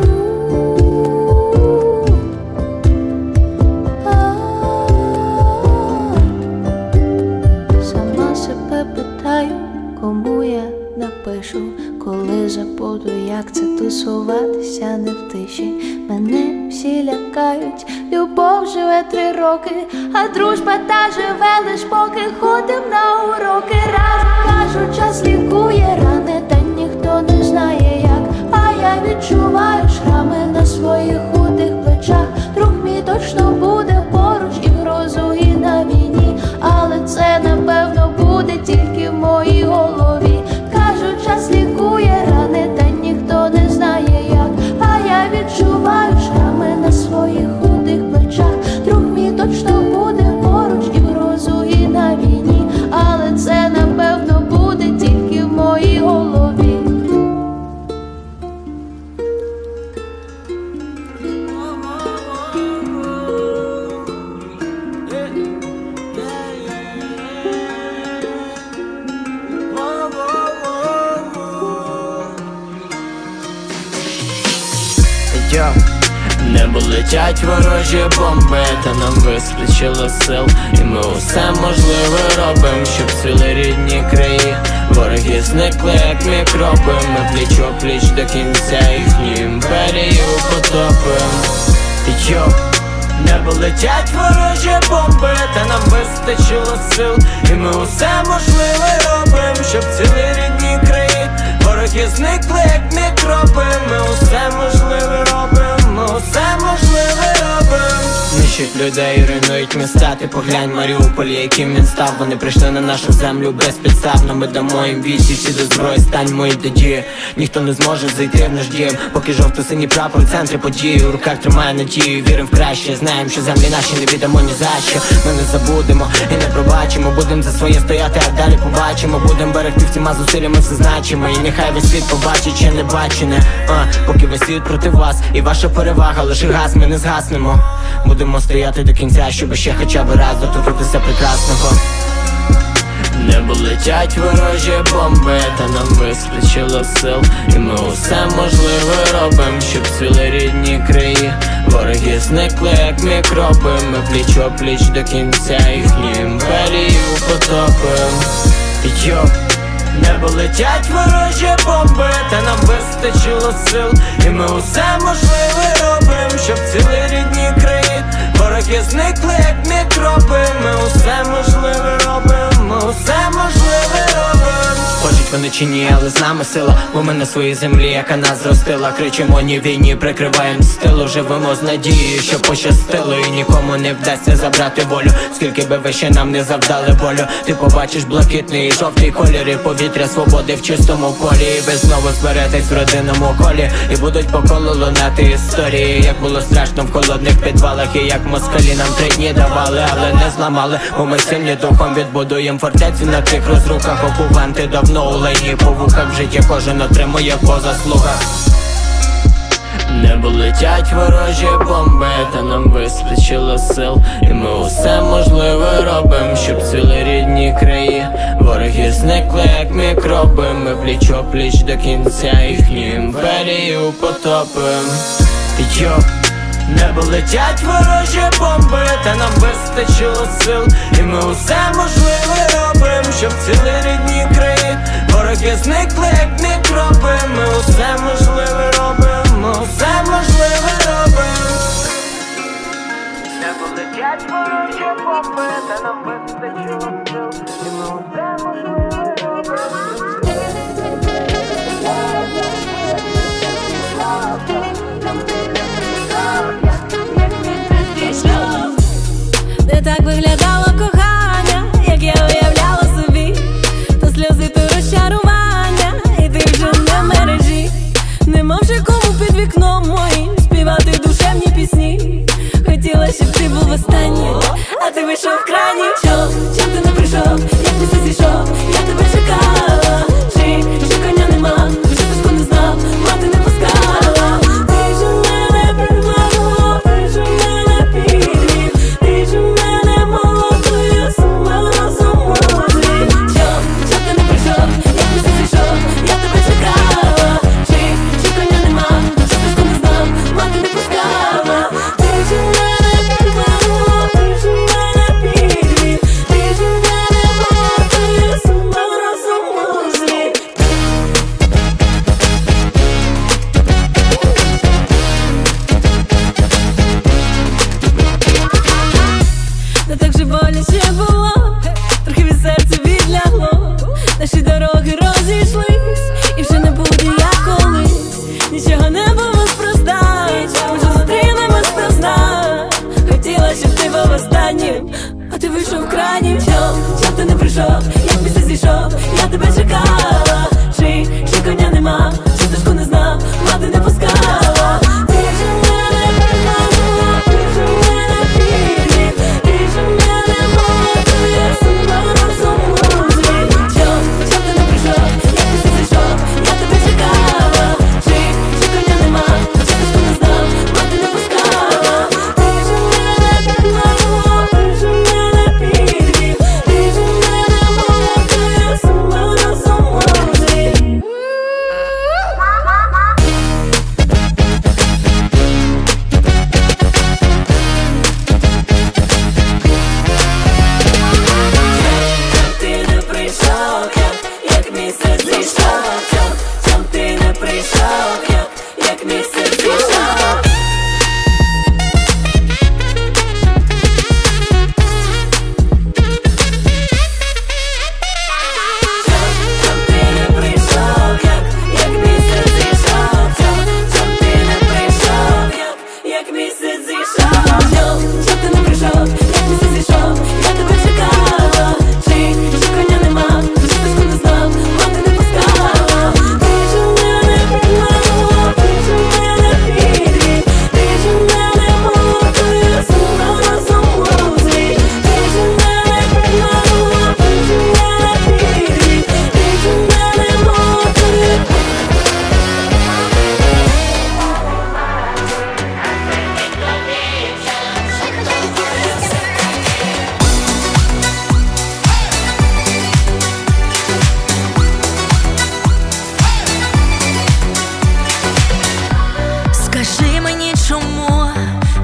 Сама себе питаю, кому я напишу, коли забуду, як це тусуватися не в тиші. Мене всі лякають, любов живе три роки, а дружба та живе лиш поки ходим на уроки разом. Кажуть, час лікує рани, та ніхто не знає як. А я відчуваю шрами на своїх худих плечах. Друг мій точно буде поруч і в грозу, і на війні. Але це напевно буде тільки в моїй голові. Кажуть, час лікує рани, та ніхто не знає як. А я відчуваю шрами на своїх худих плечах. Друг мій точно буде поруч і в грозу, і на війні. Але це напевно буде тільки в моїй голові. Небо летять ворожі бомби, та нам вистачило сил, і ми усе можливе робим, щоб цілі рідні краї. Вороги зникли, як мікроби, ми пліч-о-пліч до кінця їхню імперію потопим. Йо, небо летять ворожі бомби, та нам вистачило сил, і ми усе можливе робим, щоб цілі рідні краї. Вороги зникли, як мікроби, ми усе можливе робим, ми усе можливе робим. Нищать людей, руйнують міста, ти поглянь Маріуполь, яким він став. Вони прийшли на нашу землю безпідставно, ми дамо їм вічі, всі до зброї, станьмо і до дії. Ніхто не зможе зайти в наш дім, поки жовто-синій прапор у центрі події. У руках тримає надію, вірим в краще, знаємо, що землі наші не віддамо ні за що. Ми не забудемо і не пробачимо, будем за своє стояти, а далі побачимо. Будем берегти всіма зусиллями все значимо, і нехай весь світ побачить, ще не бачене. А, поки весь світ проти вас, і ваша перевага лише газ, ми не згаснемо. Будемо стояти до кінця, щоб ще хоча б раз доторкнутися прекрасного. Небо летять ворожі бомби, та нам вистачило сил, і ми усе можливе робим, щоб цілі рідні краї. Вороги зникли, як мікроби, ми пліч-о-пліч до кінця їхню імперію потопим. Йо, небо летять ворожі бомби, та нам вистачило сил, і ми усе можливе робим, щоб цілі рідні краї. Вороги зникли, як мікроби, ми усе можливе робим, ми усе можливе робим. Хочуть вони чи ні, але з нами сила, бо ми на своїй землі, яка нас зростила. Кричимо ні війні, прикриваєм стилу, живемо з надією, що пощастило, і нікому не вдасться забрати волю. Скільки би ви ще нам не завдали болю, ти побачиш блакитний і жовтий кольори, повітря свободи в чистому полі. І ви знову зберетесь в родинному колі, і будуть по колу лунати історії, як було страшно в холодних підвалах, і як москалі нам три дні давали, але не зламали, бо ми сильні духом відбудуєм фортецю на цих розрухах. Окупанти давно у лайні по вухах, в житті кожен отримує по заслугах. Небо летять ворожі бомби, та нам вистачило сил, і ми усе можливе робим, щоб цілі рідні краї. Вороги зникли, як мікроби, ми пліч-о-пліч до кінця їхню імперію потопим. Йо, небо летять ворожі бомби, та нам вистачило сил, і ми усе можливе робим, щоб цілі рідні краї. Вороги зникли, як мікроби, ми усе можливе робим, ми усе можливе робим. Небо летять ворожі бомби, та нам вистачило сил, і ми усе можливе робим. Не так виглядало кохання, як я уявляла собі, то сльози, то розчарування, і ти вже не в мережі. Нема вже кому під вікном моїм співати душевні пісні. Хотіла, щоб ти був останній, а ти вийшов крайній. Чом, чом ти не прийшов, як ти все зійшов, я тебе чекала. Чи, чи коня нема, вже тиску не знав, мати не пускала. Ти ж у мене приманила, ти ж у мене підвів, ти ж у мене молодою, сама розуму зрів. Чом, чом ти не прийшов, як ти все зійшов, я тебе чекала. Чи, чи коня нема, вже тиску не знав, мати не пускала. Ти ж у мене приманила, ти ж у мене підвів, ти ж у мене молодою, сама розуму зрів. Не так же боляче було, трохи від серця відлягло. Наші дороги розійшлись, і вже не буде як колись. Нічого не було спроста, може зустрінемось спроста. Хотіла, щоб ти був останнім, а ти вийшов крайнім. Чом, чом ти не прийшов, як після зійшов, я тебе чекала. Чи, чи коня нема, чи стежку не знав, мати не пускала. Ти ж у мене приманила, ти ж у мене підвів, ти ж у мене молодою, сама розуму зрів. Чом, чом ти не прийшов, як після зійшов, я тебе чекала. Чи, чи коня нема, чи стежку не знав, мати не пускала. Ти ж у мене приманила, ти ж у мене підвів, ти ж у мене молодою, сама розуму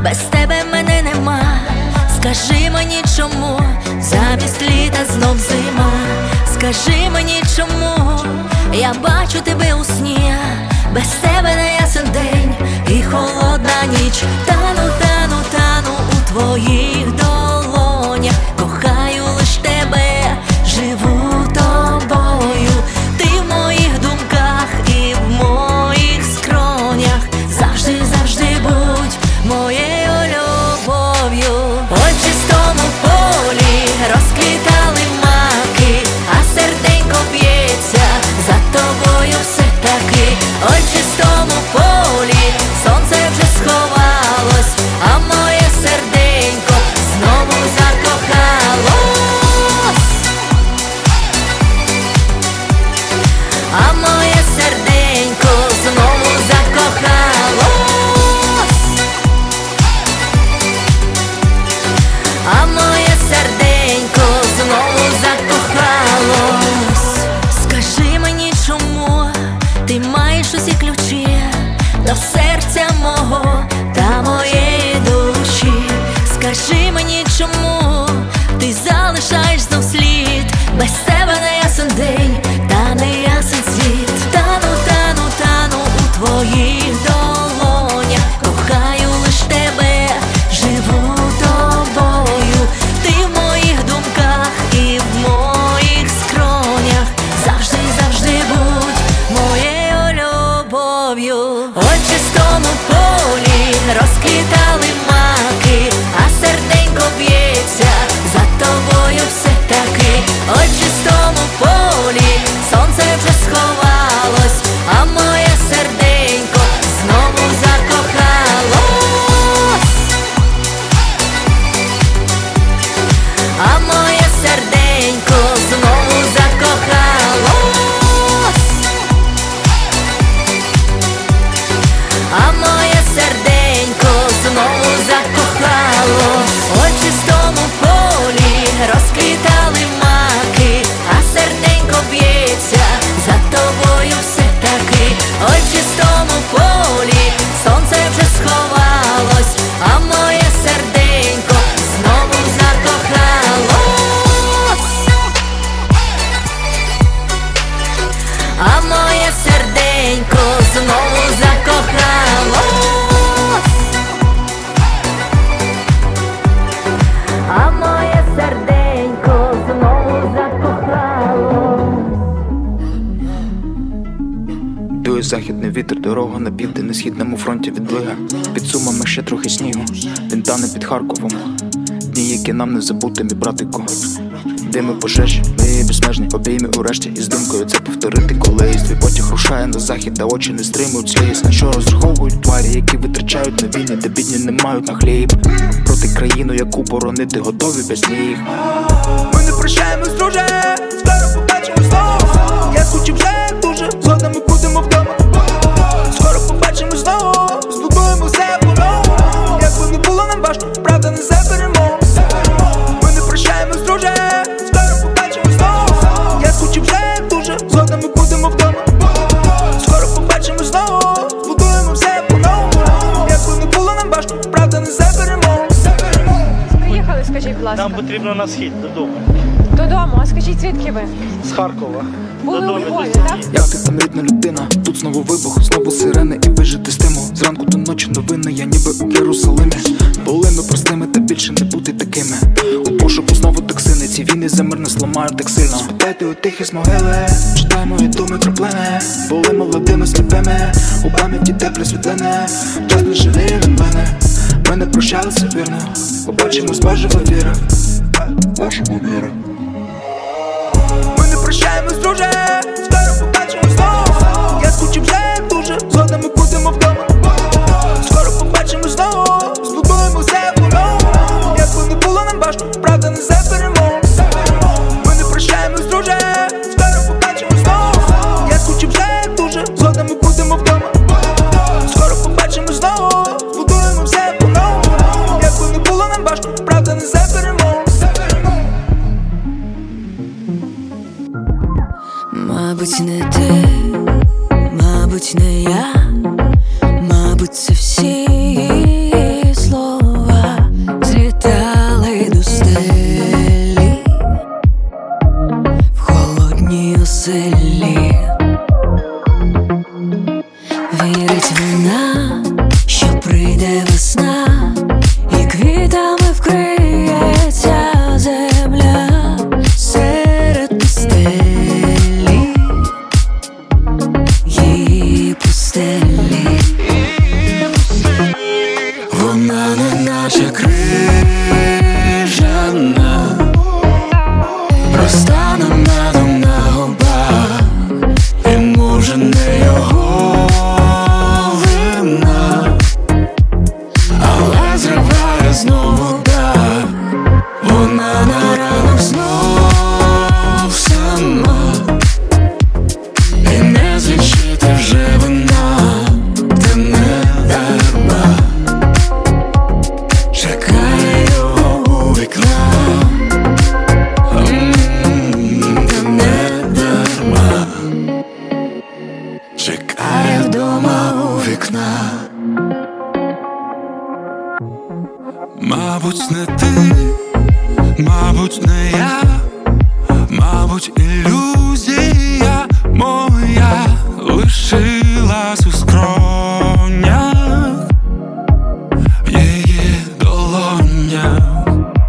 без тебе мене нема. Скажи мені, чому замість літа знов зима. Скажи мені, чому я бачу тебе у сні. Без тебе не ясен день і холодна ніч. Тану, тану, тану у твоїх долонях. Кохаю лиш тебе, живу тобою. Ти в моїх думках і в моїх скронях. Завжди, завжди будь моєю любов'ю. Ой, в чистому полі розквітали маки, а серденько б'ється за тобою все таки. Ой, в чистому полі сонце вже сховалось, а моє серденько знову закохалось. А моє серденько знову закохалось. А моє серденько знову закохалось. Скажи мені, чому ти маєш усі ключі до серця мого та моєї душі. Скажи мені, чому ти залишаєш знов слід. Без тебе не ясен день та не ясен світ. Тану, тану, тану у твоїх долонях. Кохаю лиш тебе, живу тобою. Ти в моїх думках і в моїх скронях. Завжди, завжди будь моєю любов'ю. Ой, в чистому полі розквітали маки, а серденько б'ється за тобою все таки. Ой, в чистому полі сонце вже сховалось, а моє серденько знову закохалось. А моє серденько знову закохалось. А моє серденько знову закохалось. Ой, в чистому полі розквітали маки, а серденько б'ється за тобою все таки. Ой, в чистому полі сонце вже сховалось, а моє серденько знову закохалось. А моє серденько знову закохалось. А моє серденько знову закохалось. Дує західний вітер, дорога на південь, на східному фронті відлига. Під Сумами ще трохи снігу, він тане під Харковом. Дні, які нам не забути, мій братику. Дими пожежі, ми безмежні, обійми урешті. І з думкою це повторити колись. Твій потяг рушає на захід, та очі не стримують сліз. На що розраховують тварі, які витрачають на війни, де бідні не мають на хліб. Проти країну, яку боронити готові без ніг. Ми не прощаємось, друже, скоро побачимось знову. Я скучив вже дуже, згодом ми будемо вдома. Скоро побачимось знову, збудуємо все по-новому. Якби не було нам важко, правда не заберемо. Ми не прощаємось, друже, скоро побачимось знову. Я скучив вже дуже, згодом ми будемо вдома. Скоро побачимось знову, збудуємо все по-новому. Якби не було нам важко, правда не заберемо. Приїхали, скажіть, будь ласка. Нам потрібно на схід, додому. Додому, а скажіть, звідки ви? З Харкова. Були у Львові, так? Як ти там, рідна людина? Тут знову вибух, знову сирени і вижити стимул. Зранку до ночі новини, я ніби у Єрусалимі. Були ми простими, та більше не бути такими. У пошуку знову токсини, ці війни за мир не зламають так сильно. Спитайте у тихі з могили, читай мої думи краплини. Були молодими, сліпими, у пам'яті те присвітлене. Час не жаліє від мене, ми не прощалися вірно. Побачимось, Божева віра, Божева віра. Ми не прощаємось, друже, скоро побачимось знову. Я скучив вже дуже, згодом ми будемо вдома. Скоро побачимось знову, збудуємо все по-новому. Якби не було нам важко, правда не заберемо. Ми не прощаємось, друже, скоро побачимось знову. Я скучив вже дуже, згодом ми будемо вдома. Скоро побачимось знову, збудуємо все по-новому. Якби не було нам важко, правда не заберемо. вона, що прийде весна, і квітами вкриється земля серед пустелі, її пустелі. Вона не наче крижана, розтане медом на губах, і може не його вина, але зриває знову дах. Вона на ранок знов сама, і не злічити вже вина, та не дарма чекає його у вікна. Та не дарма чекає вдома у вікна. Мабуть, не ти, мабуть, не я, мабуть, ілюзія моя лишилась у скронях, в її долонях.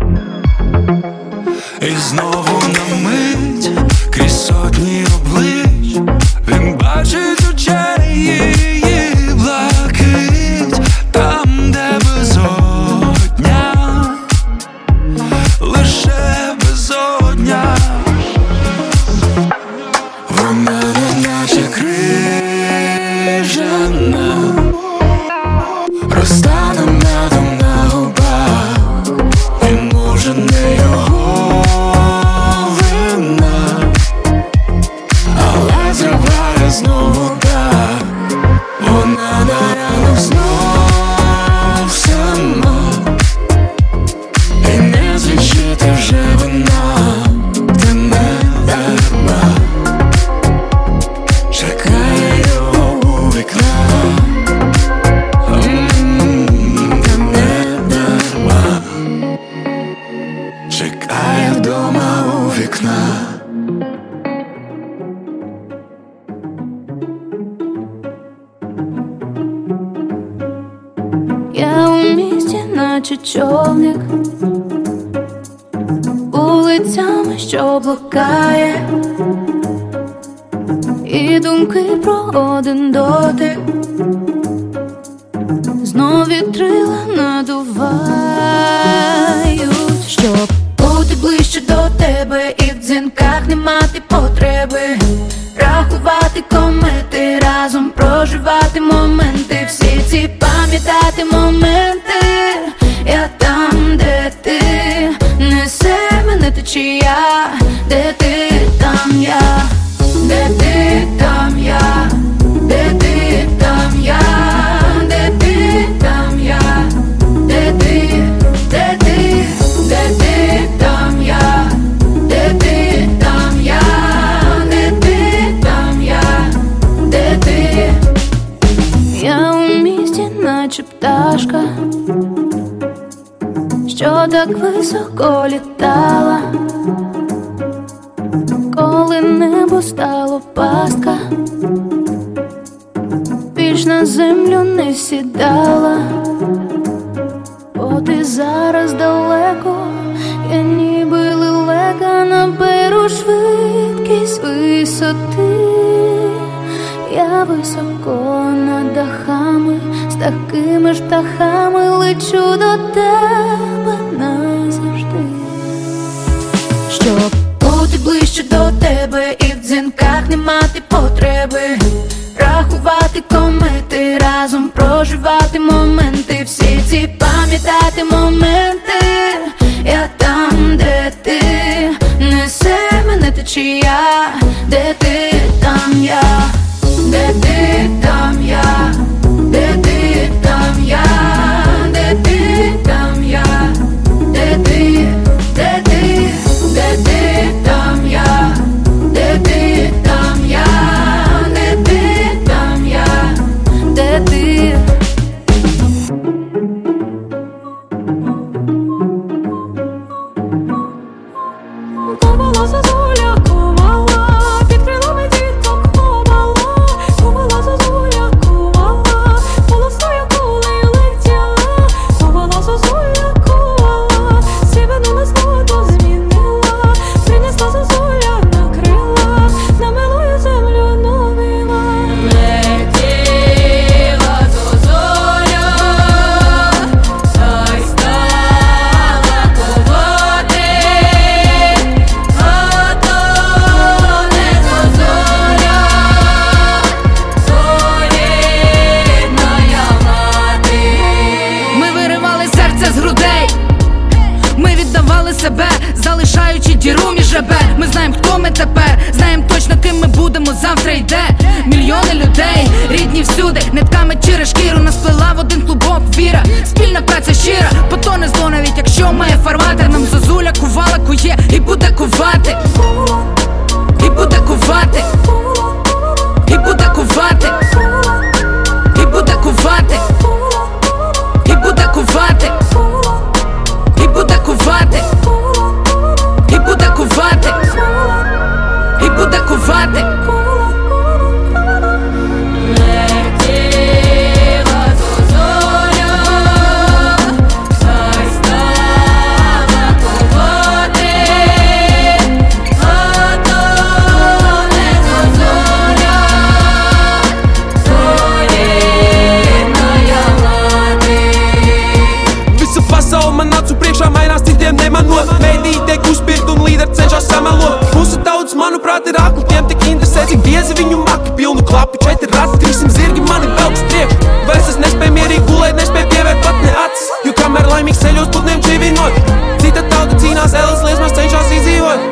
І знову на мить крізь сотні облич він бачить очей її блакить, там, де безодня, лише безодня. Вона не наче крижана, розтане медом на губах, і може не його вина, але зриває знову дах. Вона на ранок знов сама, і не злічити вже вина, та не дарма чекає його у вікна. Та не дарма чекає вдома у вікна. Я у місті, наче човник, вулицями, що блукає, і думки про один дотик знов вітрила надувають. Щоб бути ближче до тебе, і в дзвінках не мати потреби, рахувати комети, разом проживати моменти, всі ці пам'ятати моменти. Я там, де ти, несе мене течія, де ти, там я, де ти, там я, де ти, там я, де ти, там я, де ти, де ти, де ти, там я, де ти, там я, де ти, там я, де ти. Я у місті, наче пташка, що так високо літала, коли небо стало пастка, більш на землю не сідала. Бо ти зараз далеко, я ніби лелека, наберу швидкість висоти. Я високо над дахами, з такими ж птахами лечу до тебе назавжди. Щоб бути ближче до тебе, і в дзвінках не мати потреби, рахувати комети, разом проживати моменти, всі ці пам'ятати моменти. Я там, де ти, несе мене течія, де ти, там я, де ти, там я, де ти, там я, де ти, там я, де ти, де ти, де ти, там я, де ти, там я, де ти, там я, де ти. Волосся зуля кувала, хто ми тепер, знаєм точно, ким ми будемо, завтра йде. Мільйони людей, рідні всюди, нитками через шкіру нас плела в один клубок віра. Спільна праця щира, потоне зло, навіть якщо має фарватер. Нам зозуля кувала, кує і буде кувати, і буде кувати, і буде кувати, і буде кувати, і буде кувати, і буде кувати, і буде кувати, і буде кувати. Manuprāt, ir akli, tiem tik interesē, cik biezi viņu maki. Pilnu klapu, četri rati, trīsim zirgi mani velk uz priekšu. Vairs es nespēju mierīgi gulēt, nespēju pievērt pat ne acis. Jo kamēr laimīgs ceļos putniem čīvinot, cita tauta cīnās, elas liesmās cenšas izdzīvot.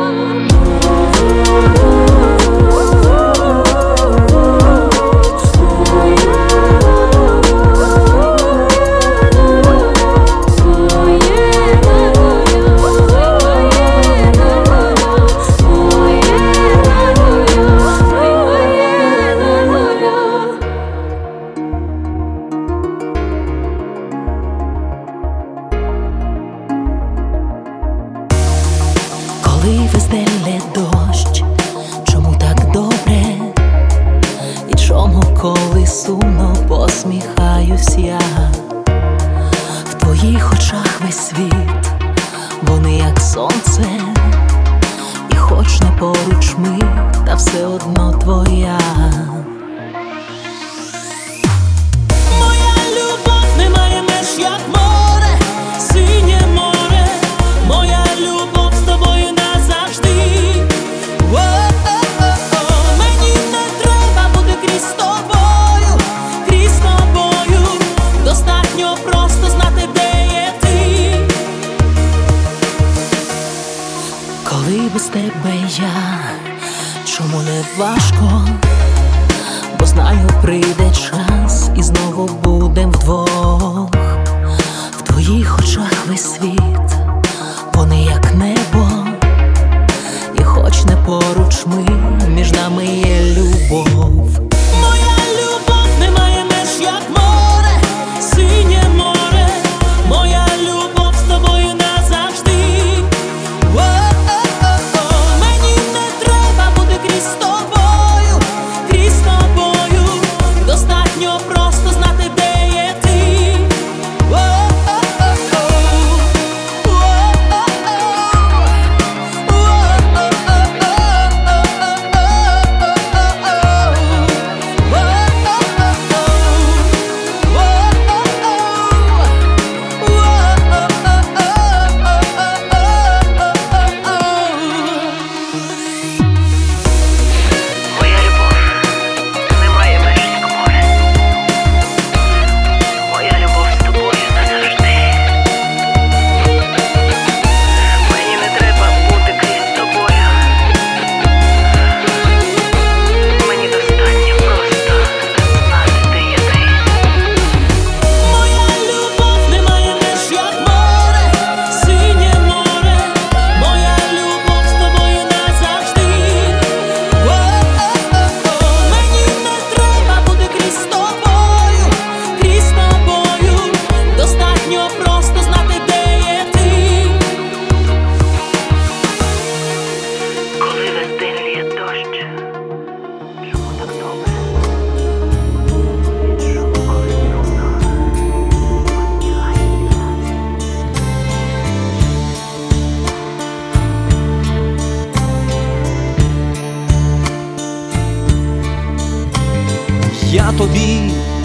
Я тобі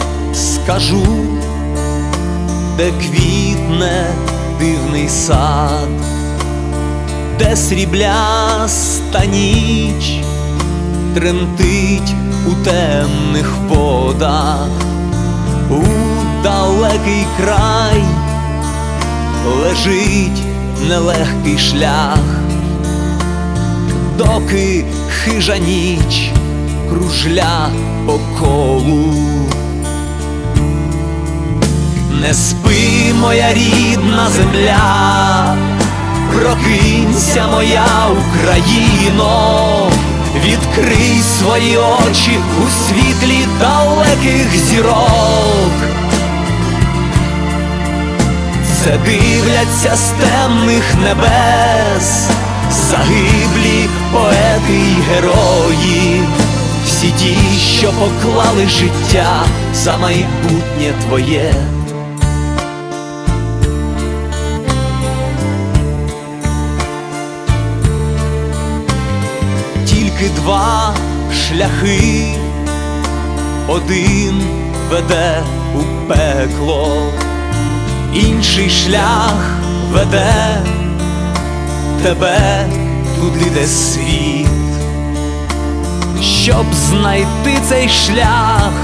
скажу, де квітне дивний сад, де срібляста ніч тремтить у темних водах, у далекий край лежить нелегкий шлях доки хижа ніч кружля по колу. Не спи, моя рідна земля, прокинься, моя Україно, відкрий свої очі у світлі далеких зірок. Це дивляться з темних небес загиблі поети й герої, всі ті, що поклали життя за майбутнє твоє. Тільки два шляхи, один веде у пекло, інший шлях веде тебе туди, де світ. Щоб знайти цей шлях,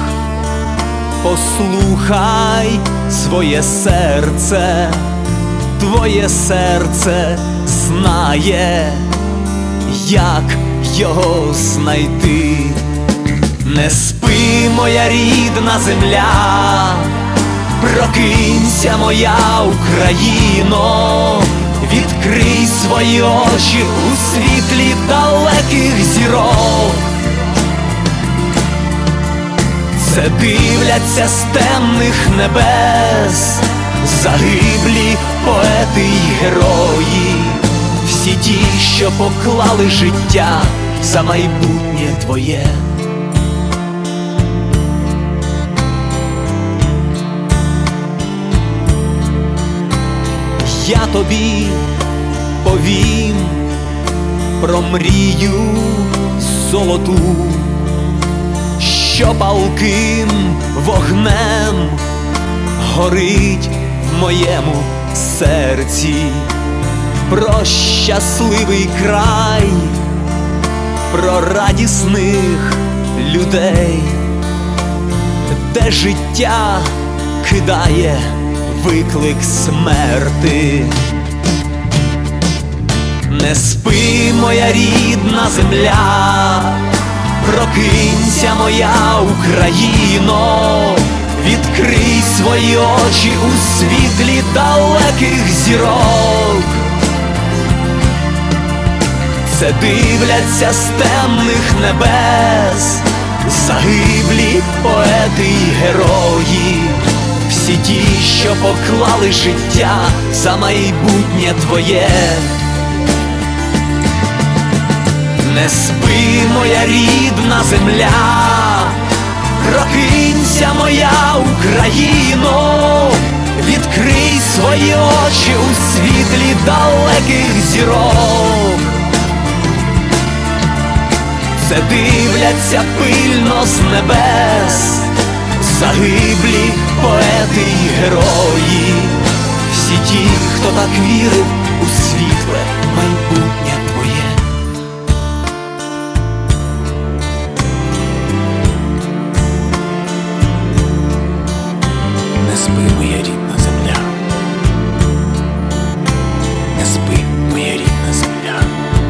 послухай своє серце, твоє серце знає, як його знайти. Не спи, моя рідна земля, прокинься, моя Україно, відкрий свої очі у світлі далеких зірок. Це дивляться з темних небес загиблі поети й герої, всі ті, що поклали життя за майбутнє твоє. Я тобі повім про мрію золоту, що палким вогнем горить в моєму серці, про щасливий край, про радісних людей, де життя кидає виклик смерти. Не спи, моя рідна земля, прокинься, моя Україно, відкрий свої очі у світлі далеких зірок. Це дивляться з темних небес загиблі поети й герої, всі ті, що поклали життя за майбутнє твоє. Не спи, моя рідна земля, прокинься, моя Україно, відкрий свої очі у світлі далеких зірок. Це дивляться пильно з небес загиблі поети й герої, всі ті, хто так вірив у світле майбутнє твоє. Не спи, моя рідна земля, не спи, моя рідна земля.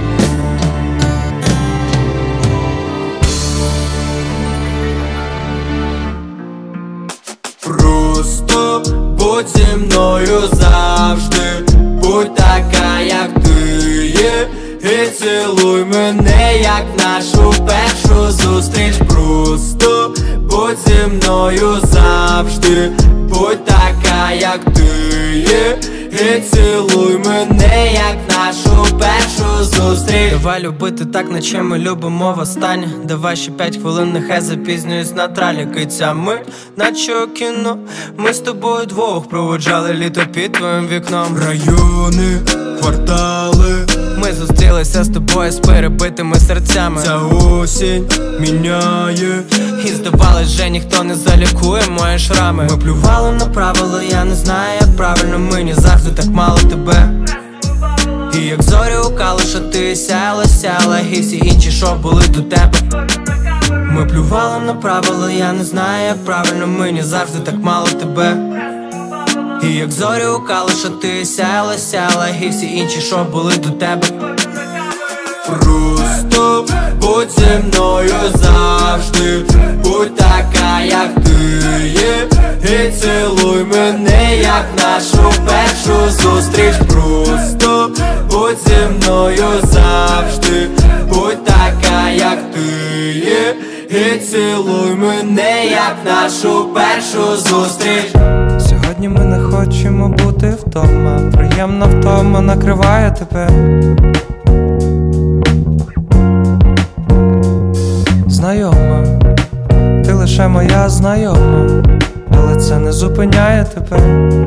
Просто будь зі мною завжди, будь така, як ти є, і цілуй мене, як нашу першу зустріч. Просто будь зі мною завжди, будь така, як ти є, і цілуй мене, як нашу першу зустріч. Давай любити так, наче ми любимо востаннє. Давай ще п'ять хвилин, нехай запізнююсь на траліки. Ця мить, наче у кіно, ми з тобою двох проводжали літо під твоїм вікном. Райони, квартали, ми зустрілися з тобою з перебитими серцями. Ця осінь міняє, і здавалось, вже ніхто не залікує мої шрами. Ми плювали на правила, я не знаю, як правильно, мені завжди так мало тебе. І як зорі у калуша, ти сяяла, сяяла, і всі інші, що були до тебе. Ми плювали на правила, я не знаю, як правильно, мені завжди так мало тебе. І як зорі у калуша, ти сяяла, сяяла, і всі інші, що були до тебе. Просто просто будь зі мною завжди, будь така, як ти є, і цілуй мене, як нашу першу зустріч. Просто будь зі мною завжди, будь така, як ти є, і цілуй мене, як нашу першу зустріч. Сьогодні ми не хочемо бути вдома, приємна втома накриває тебе. Знайома, ти лише моя знайома, але це не зупиняє тебе.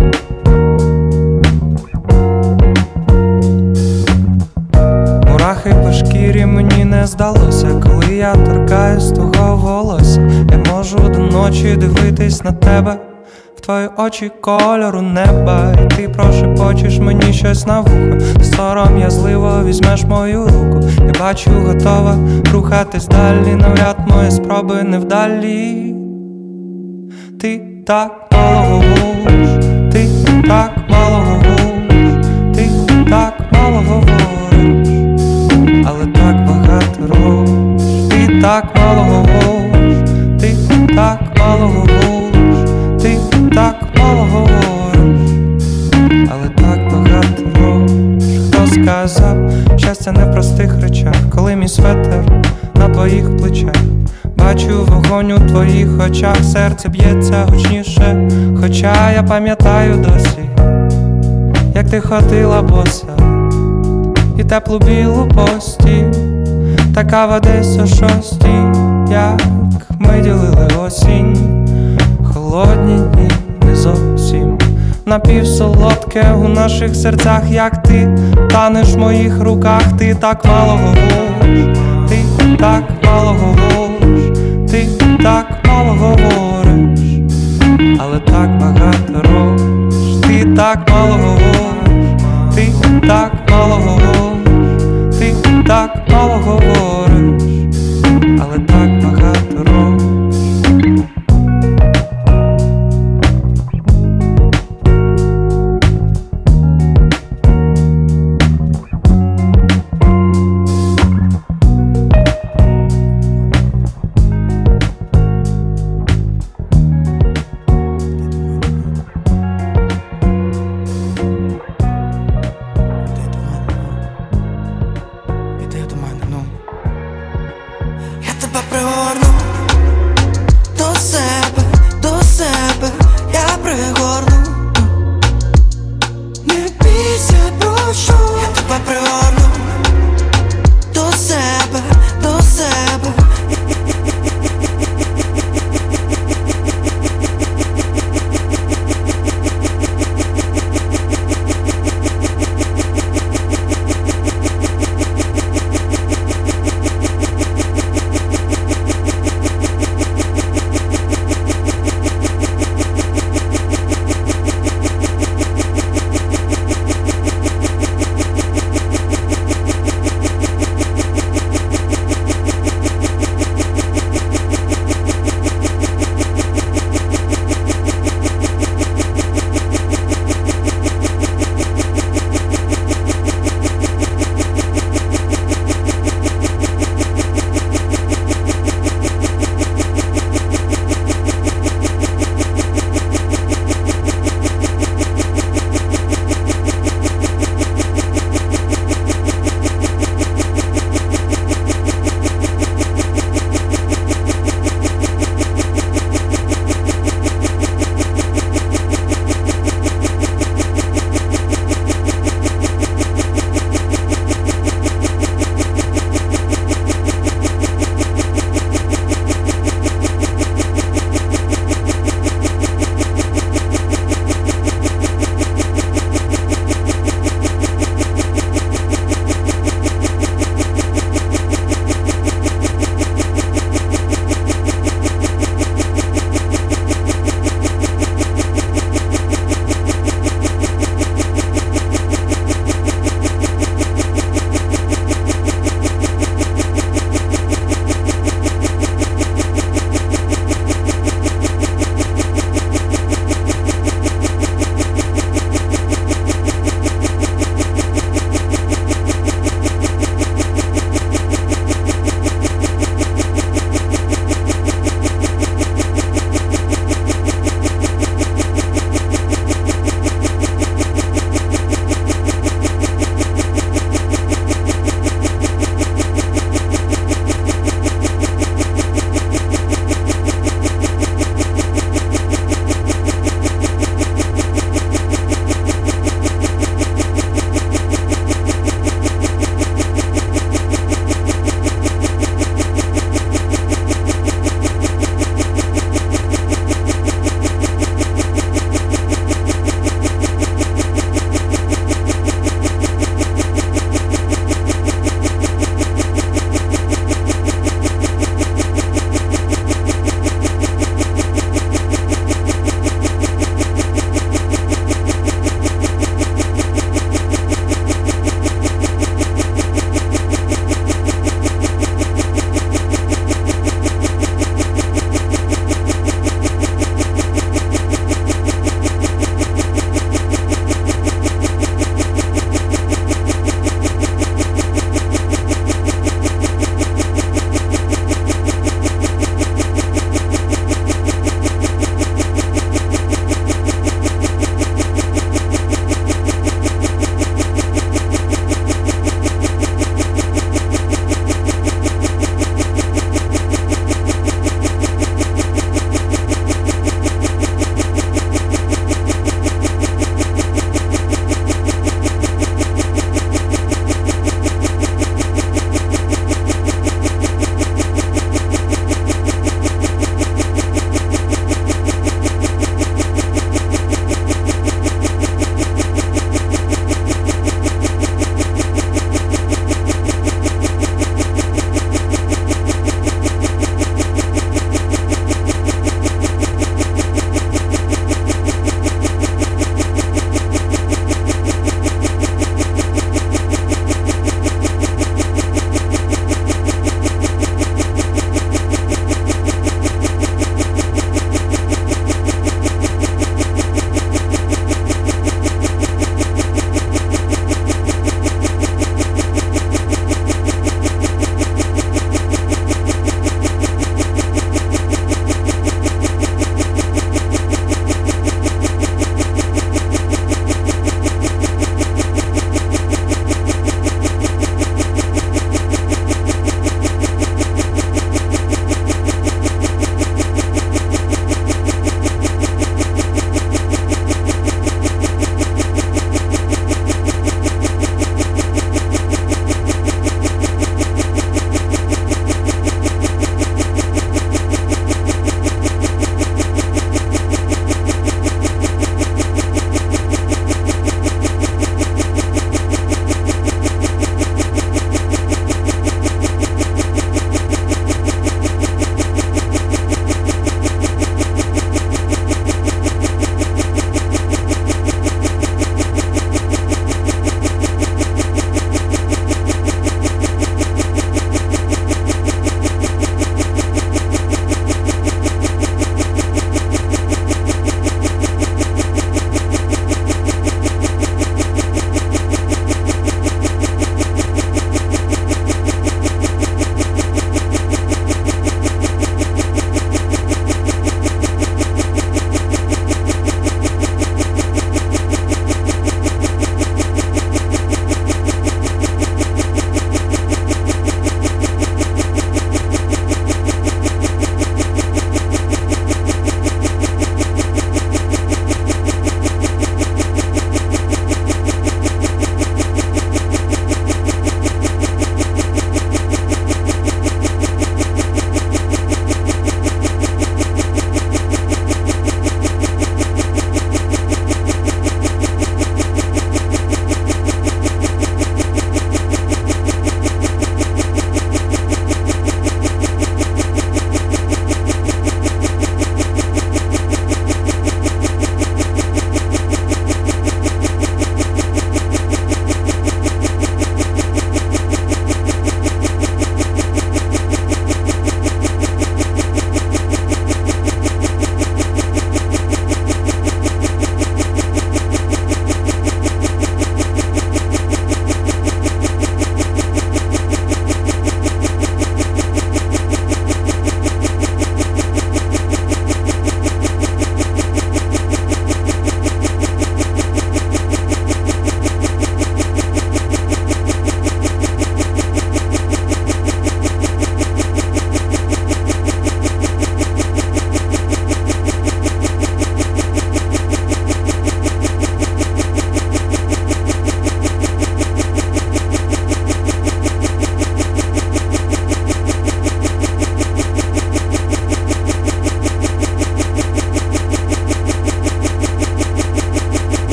Мурахи по шкірі мені не здалося, коли я торкаюсь твого волосся. Я можу до ночі дивитись на тебе, в твої очі кольору неба, і ти прошепочеш мені щось на вухо. Сором'язливо візьмеш мою руку, я бачу, готова рухатись далі, навряд мої спроби невдалі. Ти так мало говориш, ти так мало говориш, ти так мало говориш, але так багато робиш. Ти так мало говориш, ти так мало говориш, ти так мало говориш, але так багато робиш. Хто сказав, щастя не в простих речах, коли мій светер на твоїх плечах. Бачу вогонь у твоїх очах, серце б'ється гучніше, хоча я пам'ятаю досі, як ти ходила боса, і теплу білу постіль, така в десь о шостій, як ми ділили осінь. Холодні дні не зовсім напівсолодке у наших серцях, як ти танеш в моїх руках. Ти так мало говориш, ти так мало говориш, ти так мало говориш, але так багато робиш. Ти так мало говориш, ти так мало говориш, ти так мало говориш,